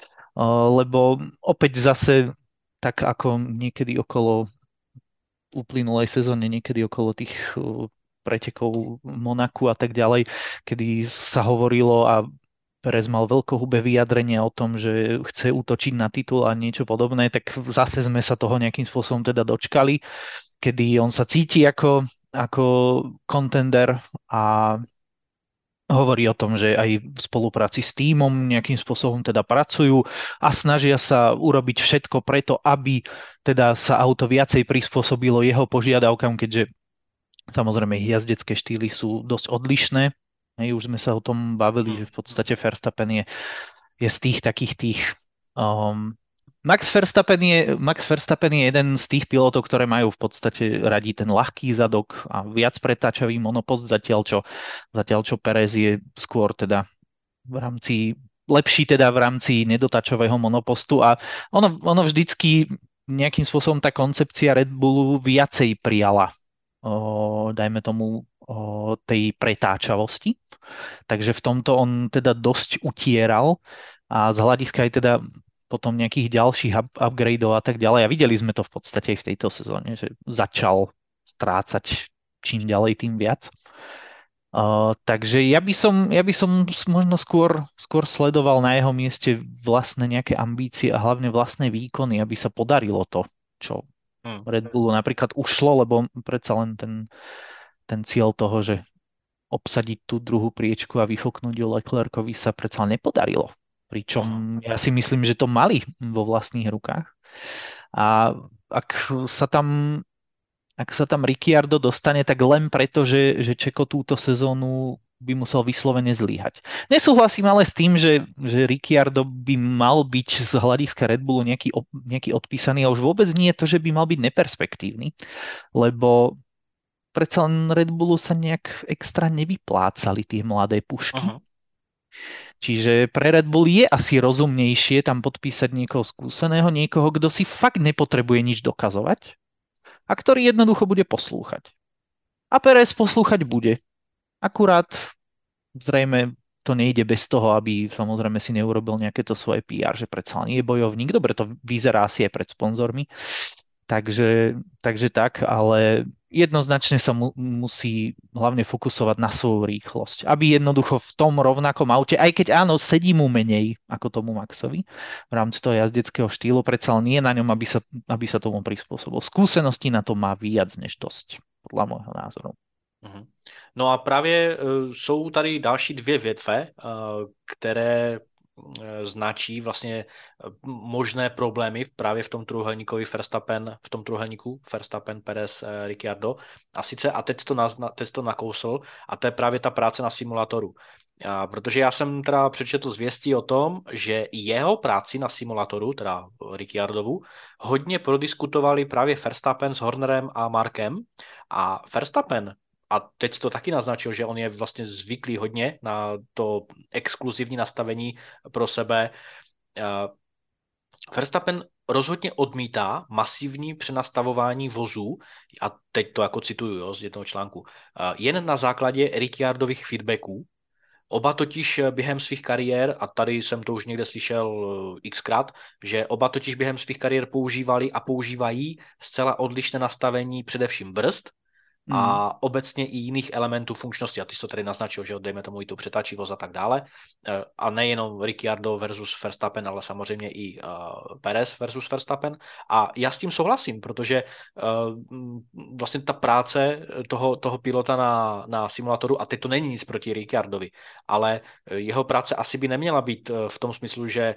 lebo opäť zase tak ako niekedy okolo uplynulej sezóne, niekedy okolo tých pretekov Monaku a tak ďalej, kedy sa hovorilo a Perez mal veľkohubé vyjadrenie o tom, že chce útočiť na titul a niečo podobné, tak zase sme sa toho nejakým spôsobom teda dočkali, kedy on sa cíti ako contender a hovorí o tom, že aj v spolupráci s tímom nejakým spôsobom teda pracujú a snažia sa urobiť všetko preto, aby teda sa auto viacej prispôsobilo jeho požiadavkám, keďže samozrejme jazdecké štýly sú dosť odlišné. Už sme sa o tom bavili, že v podstate Verstappen je z tých takých tých... Max Verstappen je jeden z tých pilotov, ktoré majú v podstate radi ten ľahký zadok a viac pretáčavý monopost, zatiaľ čo Perez je skôr teda lepší teda v rámci nedotačového monopostu a ono vždycky nejakým spôsobom tá koncepcia Red Bullu viacej prijala, dajme tomu, tej pretáčavosti. Takže v tomto on teda dosť utieral a z hľadiska aj teda potom nejakých ďalších upgradeov a tak ďalej. A videli sme to v podstate aj v tejto sezóne, že začal strácať čím ďalej, tým viac. Takže ja by som možno skôr sledoval na jeho mieste vlastné nejaké ambície a hlavne vlastné výkony, aby sa podarilo to, čo Red Bullu napríklad ušlo, lebo predsa len ten cieľ toho, že obsadiť tú druhú priečku a vyfoknúť ju Leclercovi sa predsa nepodarilo. Pričom ja si myslím, že to mali vo vlastných rukách. A ak sa tam Ricciardo dostane, tak len preto, že Čeko túto sezónu by musel vyslovene zlyhať. Nesúhlasím ale s tým, že Ricciardo by mal byť z hľadiska Red Bullu nejaký odpísaný a už vôbec nie je to, že by mal byť neperspektívny, lebo predsa len Red Bullu sa nejak extra nevyplácali tie mladé pušky. Uh-huh. Čiže pre Red Bull je asi rozumnejšie tam podpísať niekoho skúseného, niekoho, kto si fakt nepotrebuje nič dokazovať a ktorý jednoducho bude poslúchať. A Perez poslúchať bude. Akurát zrejme to nejde bez toho, aby samozrejme si neurobil nejaké to svoje PR, že predsa len je bojovník. Dobre, to vyzerá asi aj pred sponzormi. Takže tak, ale jednoznačne sa musí hlavne fokusovať na svoju rýchlosť. Aby jednoducho v tom rovnakom aute, aj keď áno, sedí mu menej ako tomu Maxovi v rámci toho jazdeckého štýlu, predsa len nie na ňom, aby sa tomu prispôsobil. Skúsenosti na to má viac než dosť, podľa môjho názoru. Mhm. No a právě jsou tady další dvě větve, které značí vlastně možné problémy právě v tom trojúhelníkovi Verstappen, Perez, Ricciardo. A sice, a teď to nakousl, a to je právě ta práce na simulátoru. Protože já jsem teda přečetl zvěstí o tom, že jeho práci na simulatoru, teda Ricciardovu, hodně prodiskutovali právě Verstappen s Hornerem a Markem. A Verstappen, a teď to taky naznačil, že on je vlastně zvyklý hodně na to exkluzivní nastavení pro sebe. Verstappen rozhodně odmítá masivní přenastavování vozů, a teď to jako cituju, jo, z jednoho článku, jen na základě Ricciardových feedbacků. Oba totiž během svých kariér, a tady jsem to už někde slyšel xkrát, že oba totiž během svých kariér používali a používají zcela odlišné nastavení především brzd a obecně i jiných elementů funkčnosti. A ty jsi to tady naznačil, že dejme tomu i tu přetačivost a tak dále. A nejenom Ricciardo versus Verstappen, ale samozřejmě i Perez versus Verstappen. A já s tím souhlasím, protože vlastně ta práce toho pilota na simulatoru, a teď to není nic proti Ricciardovi, ale jeho práce asi by neměla být v tom smyslu, že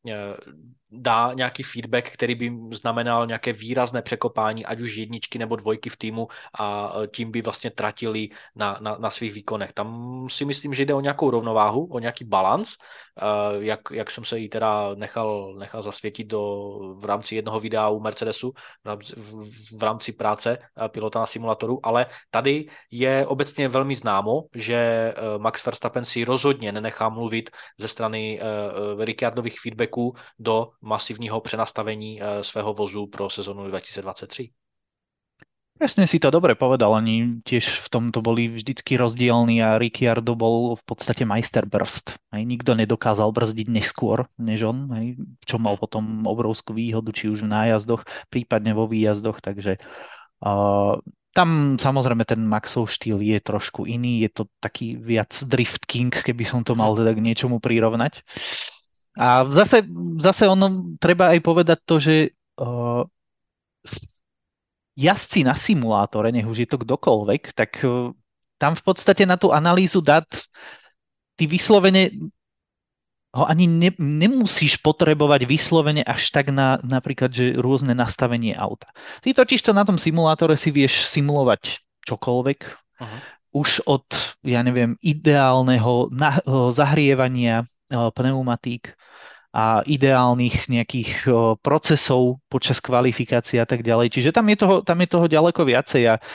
dá nějaký feedback, který by znamenal nějaké výrazné překopání, ať už jedničky nebo dvojky v týmu, a tím by vlastně tratili na svých výkonech. Tam si myslím, že jde o nějakou rovnováhu, o nějaký balans, jak jsem se jí teda nechal zasvětit v rámci jednoho videa u Mercedesu, v rámci práce pilota na simulatoru, ale tady je obecně velmi známo, že Max Verstappen si rozhodně nenechá mluvit ze strany Ricciardových feedbacků do masívneho prenastavení svého vozu pro sezónu 2023. Presne si to dobre povedal, oni tiež v tomto boli vždycky rozdielni a Ricciardo bol v podstate majster brzd. Nikto nedokázal brzdiť neskôr než on, čo mal potom obrovskú výhodu, či už v nájazdoch, prípadne vo výjazdoch, takže tam samozrejme ten Maxov štýl je trošku iný, je to taký viac drift king, keby som to mal teda k niečomu prirovnať. A zase ono treba aj povedať to, že jazdci na simulátore, nech už je to kdokoľvek, tak tam v podstate na tú analýzu dát ty vyslovene ho ani nemusíš potrebovať vyslovene až tak na napríklad, že rôzne nastavenie auta. Ty totiž to na tom simulátore si vieš simulovať čokoľvek, už od, ja neviem, ideálneho zahrievania pneumatík a ideálnych nejakých procesov počas kvalifikácie a tak ďalej. Čiže tam je toho ďaleko viacej. A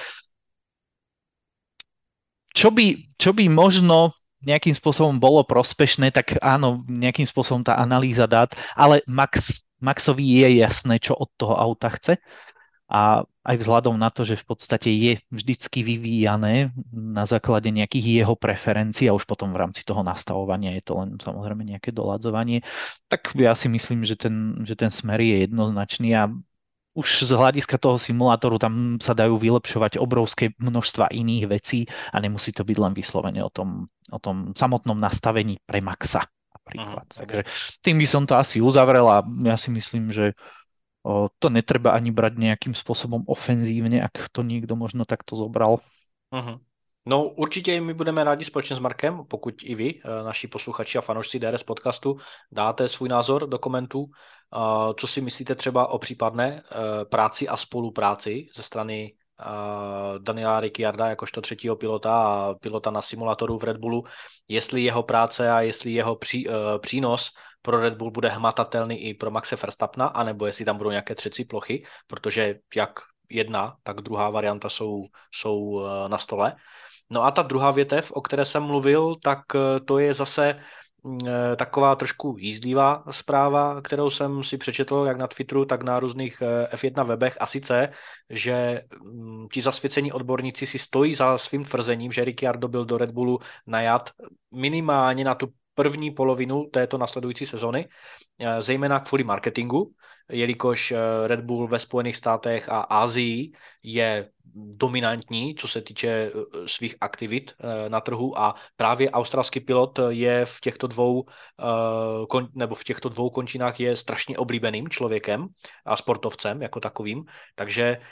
čo by možno nejakým spôsobom bolo prospešné, tak áno, nejakým spôsobom tá analýza dát, ale Maxovi je jasné, čo od toho auta chce. A aj vzhľadom na to, že v podstate je vždycky vyvíjané na základe nejakých jeho preferencií a už potom v rámci toho nastavovania je to len samozrejme nejaké doladzovanie, tak ja si myslím, že ten smer je jednoznačný a už z hľadiska toho simulátoru tam sa dajú vylepšovať obrovské množstva iných vecí a nemusí to byť len vyslovene o tom samotnom nastavení pre Maxa napríklad. Takže tým by som to asi uzavrel a ja si myslím, že to netreba ani brať nejakým spôsobom ofenzívne, ak to niekto možno takto zobral. No určitě my budeme rádi společně s Markem, pokud i vy, naši posluchači a fanoušci DRS podcastu, dáte svůj názor do komentů, co si myslíte třeba o případné práci a spolupráci ze strany Daniela Ricciarda jakožto třetího pilota a pilota na simulátoru v Red Bullu, jestli jeho práce a jestli jeho přínos pro Red Bull bude hmatatelný i pro Maxe Verstappena, anebo jestli tam budou nějaké třecí plochy, protože jak jedna, tak druhá varianta jsou na stole. No a ta druhá větev, o které jsem mluvil, tak to je zase taková trošku jízdlivá zpráva, kterou jsem si přečetl jak na Twitteru, tak na různých F1 webech, a sice, že ti zasvěcení odborníci si stojí za svým tvrzením, že Ricciardo byl do Red Bullu najat minimálně na tu první polovinu této nasledující sezony, zejména kvůli marketingu, jelikož Red Bull ve Spojených státech a Asii je dominantní, co se týče svých aktivit na trhu, a právě australský pilot je v těchto dvou končinách je strašně oblíbeným člověkem a sportovcem jako takovým, takže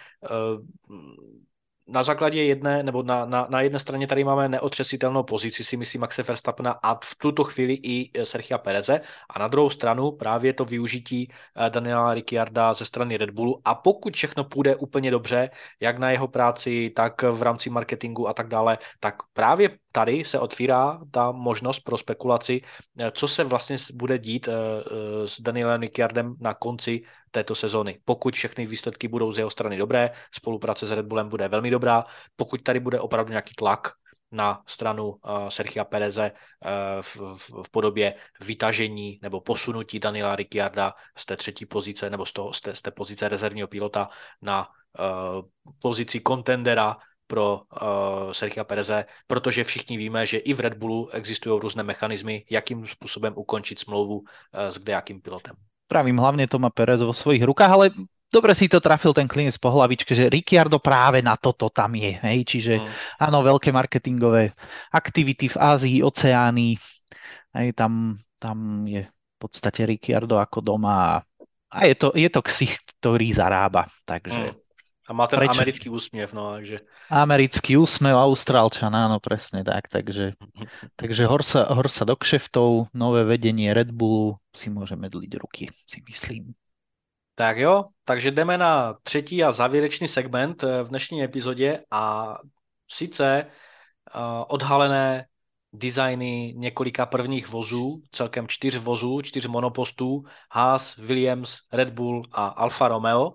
na základě jedné, nebo na jedné straně tady máme neotřesitelnou pozici, si myslím, Maxe Verstappena a v tuto chvíli i Sergia Pereze, a na druhou stranu právě to využití Daniela Ricciarda ze strany Red Bullu, a pokud všechno půjde úplně dobře, jak na jeho práci, tak v rámci marketingu a tak dále, tak právě tady se otvírá ta možnost pro spekulaci, co se vlastně bude dít s Danielem Ricciardem na konci této sezóny. Pokud všechny výsledky budou z jeho strany dobré, spolupráce s Red Bullem bude velmi dobrá, pokud tady bude opravdu nějaký tlak na stranu Sergia Pereze v podobě vytažení nebo posunutí Daniela Ricciarda z té třetí pozice nebo z té pozice rezervního pilota na pozici kontendera pro Sergia Pereze, protože všichni víme, že i v Red Bullu existují různé mechanismy, jakým způsobem ukončit smlouvu s kdejakým pilotem. Pravím, hlavne to má Perez vo svojich rukách, ale dobre si to trafil ten klinec po hlavičke, že Ricciardo práve na toto tam je. Hej? Čiže áno, veľké marketingové aktivity v Ázii, Oceánii, hej, tam je v podstate Ricciardo ako doma a je to ksicht, ktorý zarába. Takže A má ten americký úsměv, no, takže... Americký úsmev, Austrálčan, áno, presne tak, takže hor sa do kšeftov, nové vedenie Red Bullu, si môžeme dliť ruky, si myslím. Tak jo, takže jdeme na třetí a závěrečný segment v dnešní epizodě, a sice odhalené designy několika prvních vozů, celkem 4 vozů, 4 monopostů, Haas, Williams, Red Bull a Alfa Romeo.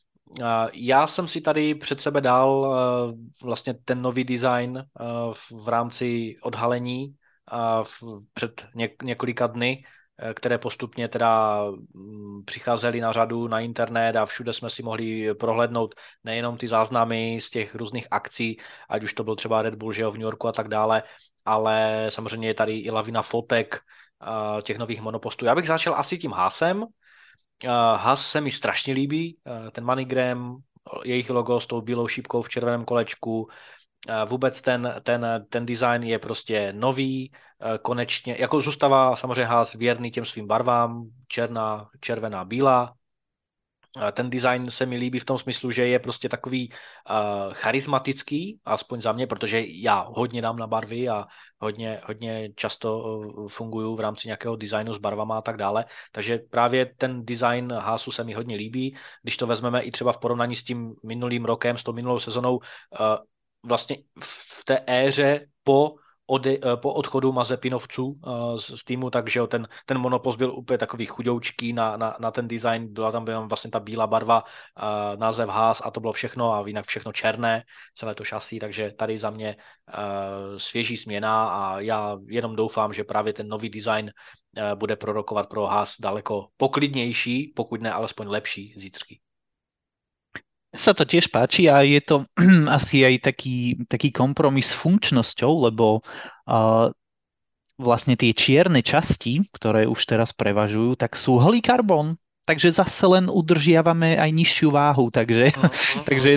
Já jsem si tady před sebe dal vlastně ten nový design v rámci odhalení před několika dny, které postupně teda přicházely na řadu na internet, a všude jsme si mohli prohlédnout nejenom ty záznamy z těch různých akcí, ať už to byl třeba Red Bull, že jo, v New Yorku a tak dále, ale samozřejmě je tady i lavina fotek těch nových monopostů. Já bych začal asi tím Haasem. Haas se mi strašně líbí, ten MoneyGram, jejich logo s tou bílou šípkou v červeném kolečku, vůbec ten design je prostě nový, konečně, jako zůstává samozřejmě Haas věrný těm svým barvám, černá, červená, bílá. Ten design se mi líbí v tom smyslu, že je prostě takový charismatický, aspoň za mě, protože já hodně dám na barvy a hodně často funguju v rámci nějakého designu s barvama a tak dále. Takže právě ten design Haasu se mi hodně líbí. Když to vezmeme i třeba v porovnání s tím minulým rokem, s tou minulou sezonou, vlastně v té éře po odchodu Mazepinovců z týmu, takže ten monopost byl úplně takový chudoučký na ten design, byla tam vlastně ta bílá barva, název Haas a to bylo všechno, a jinak všechno černé, celé to šasí, takže tady za mě svěží směna, a já jenom doufám, že právě ten nový design bude prorokovat pro Haas daleko poklidnější, pokud ne alespoň lepší zítřky. Sa to tiež páči a je to asi aj taký kompromis s funkčnosťou, lebo vlastne tie čierne časti, ktoré už teraz prevažujú, tak sú holý karbon. Takže zase len udržiavame aj nižšiu váhu, takže je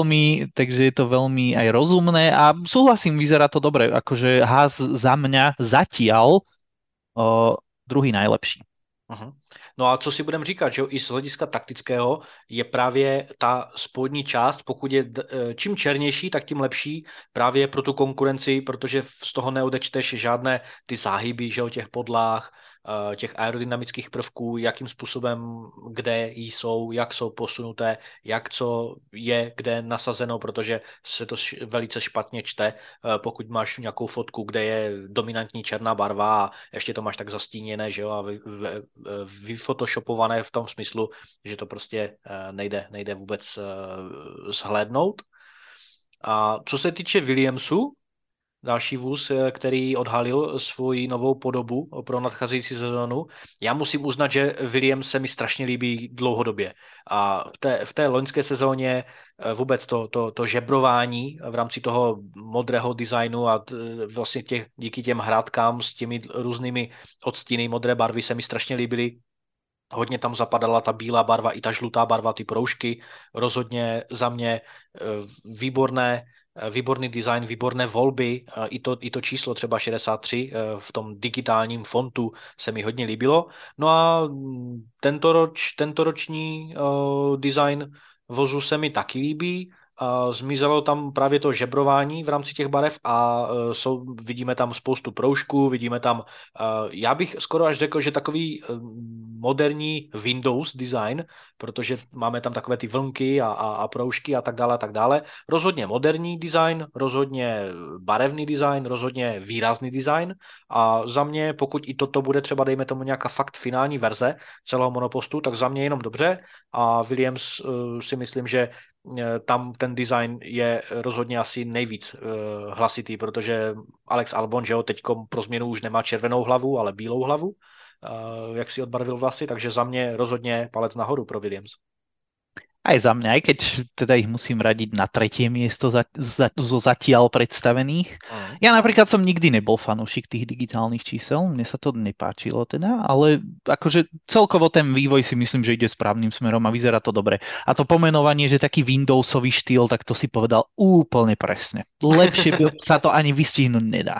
to veľmi aj rozumné a súhlasím, vyzerá to dobre, akože Haas za mňa zatiaľ druhý najlepší. No a co si budeme říkat, že jo, i z hlediska taktického je právě ta spodní část, pokud je čím černější, tak tím lepší právě pro tu konkurenci, protože z toho neodečteš žádné ty záhyby, že jo, těch podlah, těch aerodynamických prvků, jakým způsobem, kde jsou, jak jsou posunuté, jak co je kde nasazeno, protože se to velice špatně čte, pokud máš nějakou fotku, kde je dominantní černá barva a ještě to máš tak zastíněné, že jo, a vyfotoshopované v tom smyslu, že to prostě nejde vůbec zhlédnout. A co se týče Williamsu, další vůz, který odhalil svoji novou podobu pro nadcházející sezónu. Já musím uznat, že Williams se mi strašně líbí dlouhodobě. A v té loňské sezóně vůbec to žebrování v rámci toho modrého designu a vlastně díky těm hrátkám s těmi různými odstíny modré barvy se mi strašně líbily. Hodně tam zapadala ta bílá barva i ta žlutá barva, ty proužky. Rozhodně za mě výborný design, výborné volby. I to číslo třeba 63 v tom digitálním fontu se mi hodně líbilo. No a tentoroční design vozu se mi taky líbí. Zmizelo tam právě to žebrování v rámci těch barev a vidíme tam spoustu proužků, vidíme tam, já bych skoro až řekl, že takový moderní Windows design, protože máme tam takové ty vlnky a proužky a tak dále a tak dále. Rozhodně moderní design, rozhodně barevný design, rozhodně výrazný design a za mě, pokud i toto bude třeba, dejme tomu nějaká fakt finální verze celého monopostu, tak za mě jenom dobře a Williams si myslím, že tam ten design je rozhodně asi nejvíc hlasitý, protože Alex Albon, že jo, teďko pro změnu už nemá červenou hlavu, ale bílou hlavu, jak si odbarvil vlasy, takže za mě rozhodně palec nahoru pro Williams. Aj za mňa, aj keď teda ich musím radiť na tretie miesto zo zatiaľ predstavených. Ja napríklad som nikdy nebol fanúšik tých digitálnych čísel, mne sa to nepáčilo teda, ale akože celkovo ten vývoj si myslím, že ide správnym smerom a vyzerá to dobre. A to pomenovanie, že taký Windowsový štýl, tak to si povedal úplne presne. Lepšie sa to ani vystihnúť nedá.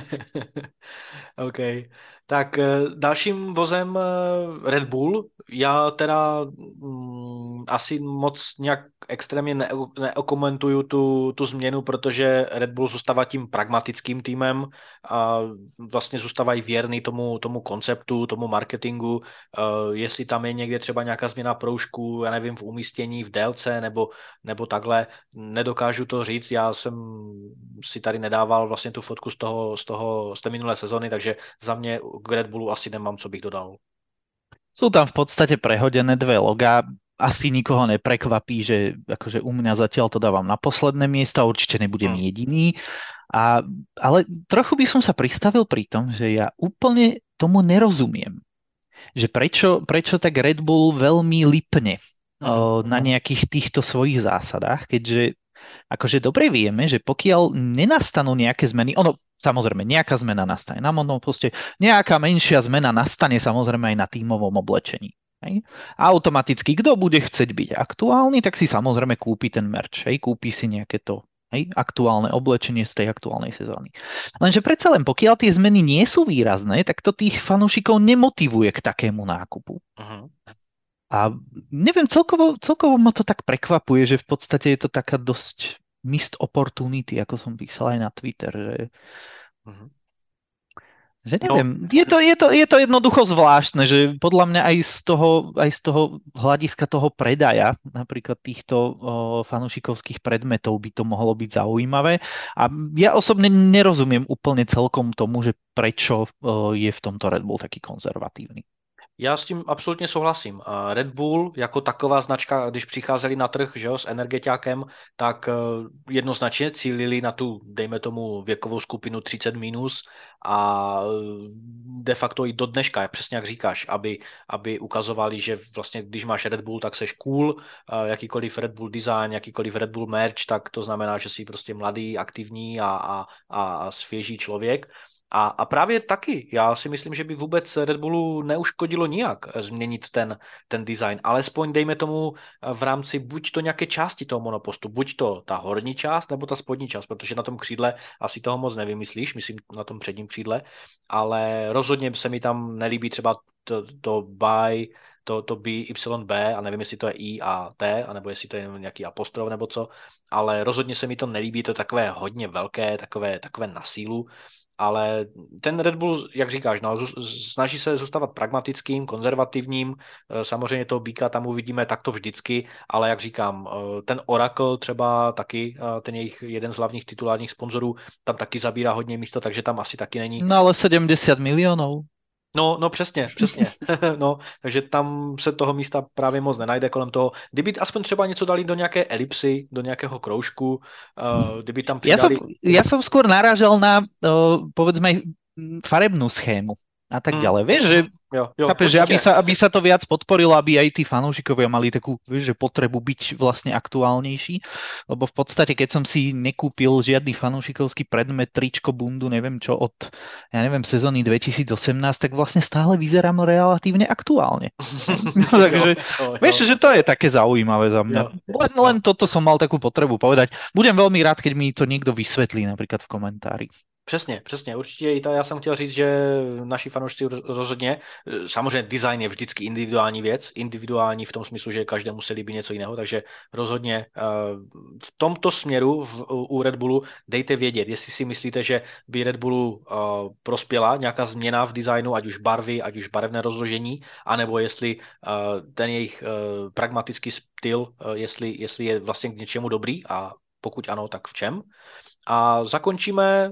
OK. Tak dalším vozem Red Bull. Já teda asi moc nějak extrémně neokomentuju tu změnu, protože Red Bull zůstává tím pragmatickým týmem a vlastně zůstávají věrný tomu konceptu, tomu marketingu. Jestli tam je někde třeba nějaká změna proužku, já nevím, v umístění, v délce nebo takhle, nedokážu to říct. Já jsem si tady nedával vlastně tu fotku z té minulé sezony, takže za mě k Red Bullu asi nemám, co bych dodal. Sú tam v podstate prehodené dve logá. Asi nikoho neprekvapí, že akože u mňa zatiaľ to dávam na posledné miesto a určite nebudem jediný. Ale trochu by som sa pristavil pri tom, že ja úplne tomu nerozumiem. Že prečo tak Red Bull veľmi lipne na nejakých týchto svojich zásadách, keďže akože dobre vieme, že pokiaľ nenastanú nejaké zmeny, samozrejme nejaká zmena nastane na monoposte, nejaká menšia zmena nastane samozrejme aj na tímovom oblečení. Hej. A automaticky, kto bude chcieť byť aktuálny, tak si samozrejme kúpi ten merch, hej, kúpi si nejaké to aktuálne oblečenie z tej aktuálnej sezóny. Lenže predsa len pokiaľ tie zmeny nie sú výrazné, tak to tých fanúšikov nemotivuje k takému nákupu. A neviem, celkovo ma to tak prekvapuje, že v podstate je to taká dosť missed opportunity, ako som písal aj na Twitter, že neviem, je to jednoducho zvláštne, že podľa mňa aj z toho hľadiska toho predaja, napríklad týchto fanúšikovských predmetov by to mohlo byť zaujímavé. A ja osobne nerozumiem úplne celkom tomu, že prečo je v tomto Red Bull taký konzervatívny. Já s tím absolutně souhlasím. Red Bull jako taková značka, když přicházeli na trh, že jo, s energetiákem, tak jednoznačně cílili na tu, dejme tomu, věkovou skupinu 30 minus a de facto i do dneška, přesně jak říkáš, aby ukazovali, že vlastně když máš Red Bull, tak seš cool, jakýkoliv Red Bull design, jakýkoliv Red Bull merch, tak to znamená, že jsi prostě mladý, aktivní a svěží člověk. A právě taky, já si myslím, že by vůbec Red Bullu neuškodilo nijak změnit ten design, alespoň dejme tomu v rámci buď to nějaké části toho monopostu, buď to ta horní část, nebo ta spodní část, protože na tom křídle asi toho moc nevymyslíš, myslím na tom předním křídle, ale rozhodně se mi tam nelíbí třeba to by, to BYB, a nevím, jestli to je I a T, anebo jestli to je nějaký apostrof nebo co, ale rozhodně se mi to nelíbí, to je takové hodně velké, takové na sílu, ale ten Red Bull, jak říkáš, no, snaží se zůstávat pragmatickým, konzervativním, samozřejmě toho Býka tam uvidíme takto vždycky, ale jak říkám, ten Oracle třeba taky, ten jejich jeden z hlavních titulárních sponzorů, tam taky zabírá hodně místa, takže tam asi taky není. No ale 70 miliónov. No přesně. No, takže tam se toho místa právě moc nenajde kolem toho. Kdyby aspoň třeba něco dali do nějaké elipsy, do nějakého kroužku, kdyby tam přidali... Ja som skôr narážal na, povedzme, aj farebnú schému a tak ďalej. Vieš, že Jo, chápeš, že aby sa to viac podporilo, aby aj tí fanúšikovia mali takú, vieš, že potrebu byť vlastne aktuálnejší, lebo v podstate, keď som si nekúpil žiadny fanúšikovský predmet, tričko, bundu, neviem čo, od, ja neviem, sezóny 2018, tak vlastne stále vyzerám relatívne aktuálne. No, takže, vieš, že to je také zaujímavé za mňa. Len toto som mal takú potrebu povedať. Budem veľmi rád, keď mi to niekto vysvetlí napríklad v komentári. Přesně, určitě i to já jsem chtěl říct, že naši fanoušci rozhodně, samozřejmě design je vždycky individuální věc, individuální v tom smyslu, že každému se líbí něco jiného, takže rozhodně v tomto směru u Red Bullu dejte vědět, jestli si myslíte, že by Red Bullu prospěla nějaká změna v designu, ať už barvy, ať už barevné rozložení, anebo jestli ten jejich pragmatický styl, jestli je vlastně k něčemu dobrý a pokud ano, tak v čem. A zakončíme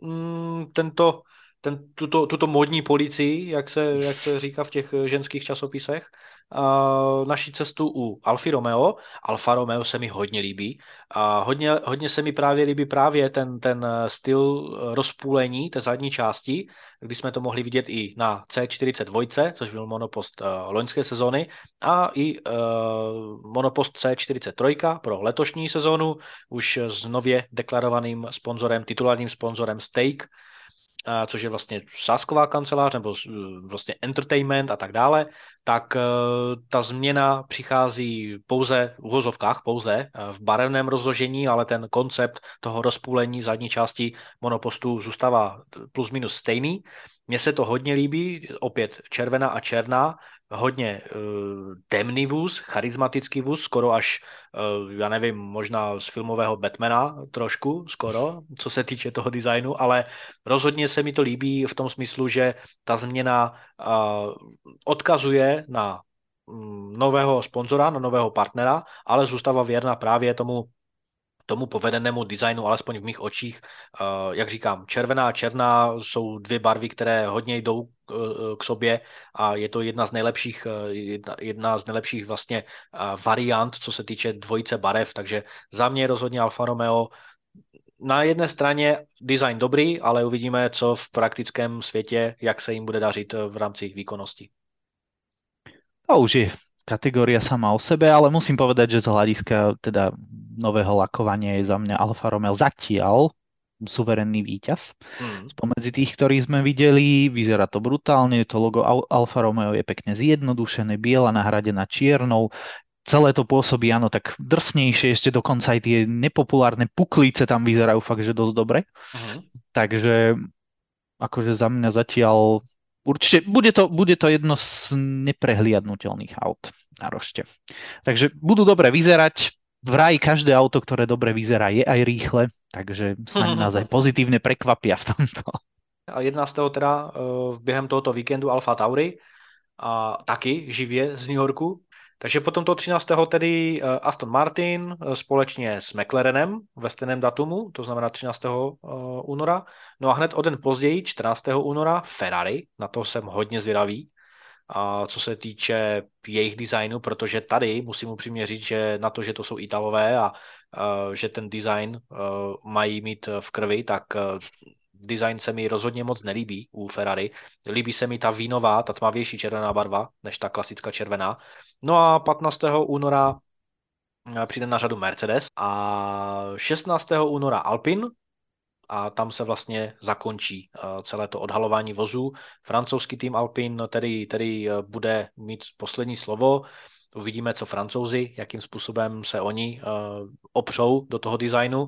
tuto módní policii, jak se říká v těch ženských časopisech, naší cestu u Alfy Romeo. Alfa Romeo se mi hodně líbí. A hodně se mi právě líbí ten styl rozpůlení té zadní části, kdy jsme to mohli vidět i na C42, což byl monopost loňské sezóny, a i monopost C43 pro letošní sezónu, už s nově deklarovaným sponzorem, titulárním sponzorem Stake, což je vlastně sázková kancelář nebo vlastně entertainment a tak dále, tak ta změna přichází pouze v uvozovkách, pouze v barevném rozložení, ale ten koncept toho rozpůlení zadní části monopostu zůstává plus minus stejný. Mně se to hodně líbí, opět červená a černá, hodně temný vůz, charismatický vůz, skoro až, já nevím, možná z filmového Batmana trošku, skoro, co se týče toho designu, ale rozhodně se mi to líbí v tom smyslu, že ta změna odkazuje na nového sponzora, na nového partnera, ale zůstává věrna právě tomu povedenému designu, alespoň v mých očích. Jak říkám, červená a černá jsou dvě barvy, které hodně jdou k sobě a je to jedna z nejlepších vlastně variant, co se týče dvojice barev, takže za mě rozhodně Alfa Romeo na jedné straně design dobrý, ale uvidíme, co v praktickém světě, jak se jim bude dařit v rámci výkonnosti. To už je kategória sama o sebe, ale musím povedať, že z hľadiska teda nového lakovania je za mňa Alfa Romeo zatiaľ suverénny víťaz. Spomedzi tých, ktorí sme videli, vyzerá to brutálne, to logo Alfa Romeo je pekne zjednodušené, biela nahradená čiernou, celé to pôsobí, áno, tak drsnejšie, ešte dokonca aj tie nepopulárne puklice tam vyzerajú fakt, že dosť dobre. Takže akože za mňa zatiaľ určite bude to jedno z neprehliadnutelných aut na rošte. Takže budú dobre vyzerať. Vraj každé auto, ktoré dobre vyzerá, je aj rýchle, takže snáď nás aj pozitívne prekvapia v tomto. A 11. teda během tohoto víkendu Alfa Tauri a taky živě z New Yorku. Takže potom toho 13. tedy Aston Martin společně s McLarenem ve stejném datumu, to znamená 13. února. No a hned o den později, 14. února, Ferrari, na to jsem hodně zvědavý, a co se týče jejich designu, protože tady musím upřímně říct, že na to, že to jsou Italové a že ten design mají mít v krvi, tak design se mi rozhodně moc nelíbí u Ferrari. Líbí se mi ta vínová, ta tmavější červená barva, než ta klasická červená. No a 15. února přijde na řadu Mercedes a 16. února Alpine a tam se vlastně zakončí celé to odhalování vozů. Francouzský tým Alpine tedy bude mít poslední slovo. Uvidíme, co Francouzi, jakým způsobem se oni opřou do toho designu.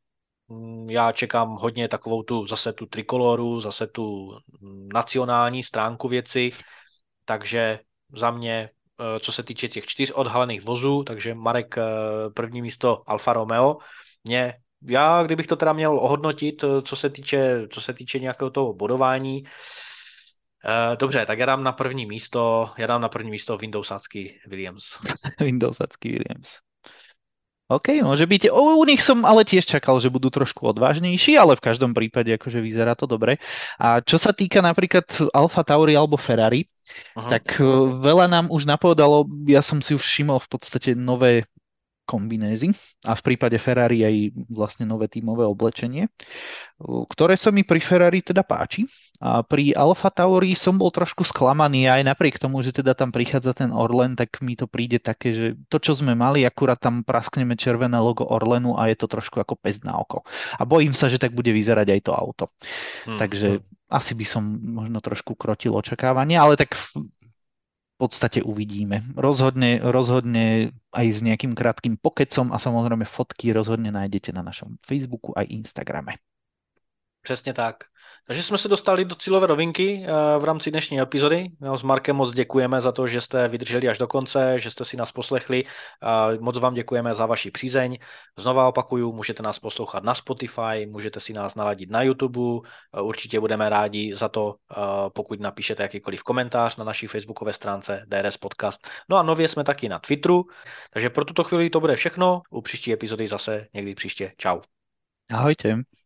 Já čekám hodně takovou zase tu trikoloru, zase tu nacionální stránku věci. takže za mě, co se týče těch 4 odhalených vozů, takže Marek první místo Alfa Romeo. Já, kdybych to teda měl ohodnotit, co se týče nějakého toho bodování, dobře, tak já dám na první místo Windowsácký Williams. Windowsacký Williams. OK, môže byť. U nich som ale tiež čakal, že budú trošku odvážnejší, ale v každom prípade akože vyzerá to dobre. A čo sa týka napríklad Alfa Tauri alebo Ferrari, tak veľa nám už napovedalo, ja som si už všimol v podstate nové kombinézy a v prípade Ferrari aj vlastne nové tímové oblečenie, ktoré sa mi pri Ferrari teda páči. A pri Alfa Tauri som bol trošku sklamaný aj napriek tomu, že teda tam prichádza ten Orlen, tak mi to príde také, že to, čo sme mali, akurát tam praskneme červené logo Orlenu a je to trošku ako pest na oko. A bojím sa, že tak bude vyzerať aj to auto. Takže asi by som možno trošku krotil očakávania, ale tak v podstate uvidíme. Rozhodne aj s nejakým krátkým pokecom a samozrejme fotky rozhodne nájdete na našom Facebooku aj Instagrame. Přesně tak. Takže jsme se dostali do cílové rovinky v rámci dnešní epizody. S Markem moc děkujeme za to, že jste vydrželi až do konce, že jste si nás poslechli. Moc vám děkujeme za vaši přízeň. Znova opakuju, můžete nás poslouchat na Spotify, můžete si nás naladit na YouTube. Určitě budeme rádi za to, pokud napíšete jakýkoliv komentář na naší facebookové stránce DRS Podcast. No a nově jsme taky na Twitteru. Takže pro tuto chvíli to bude všechno. U příští epizody zase někdy příště. Čau. Ahojte.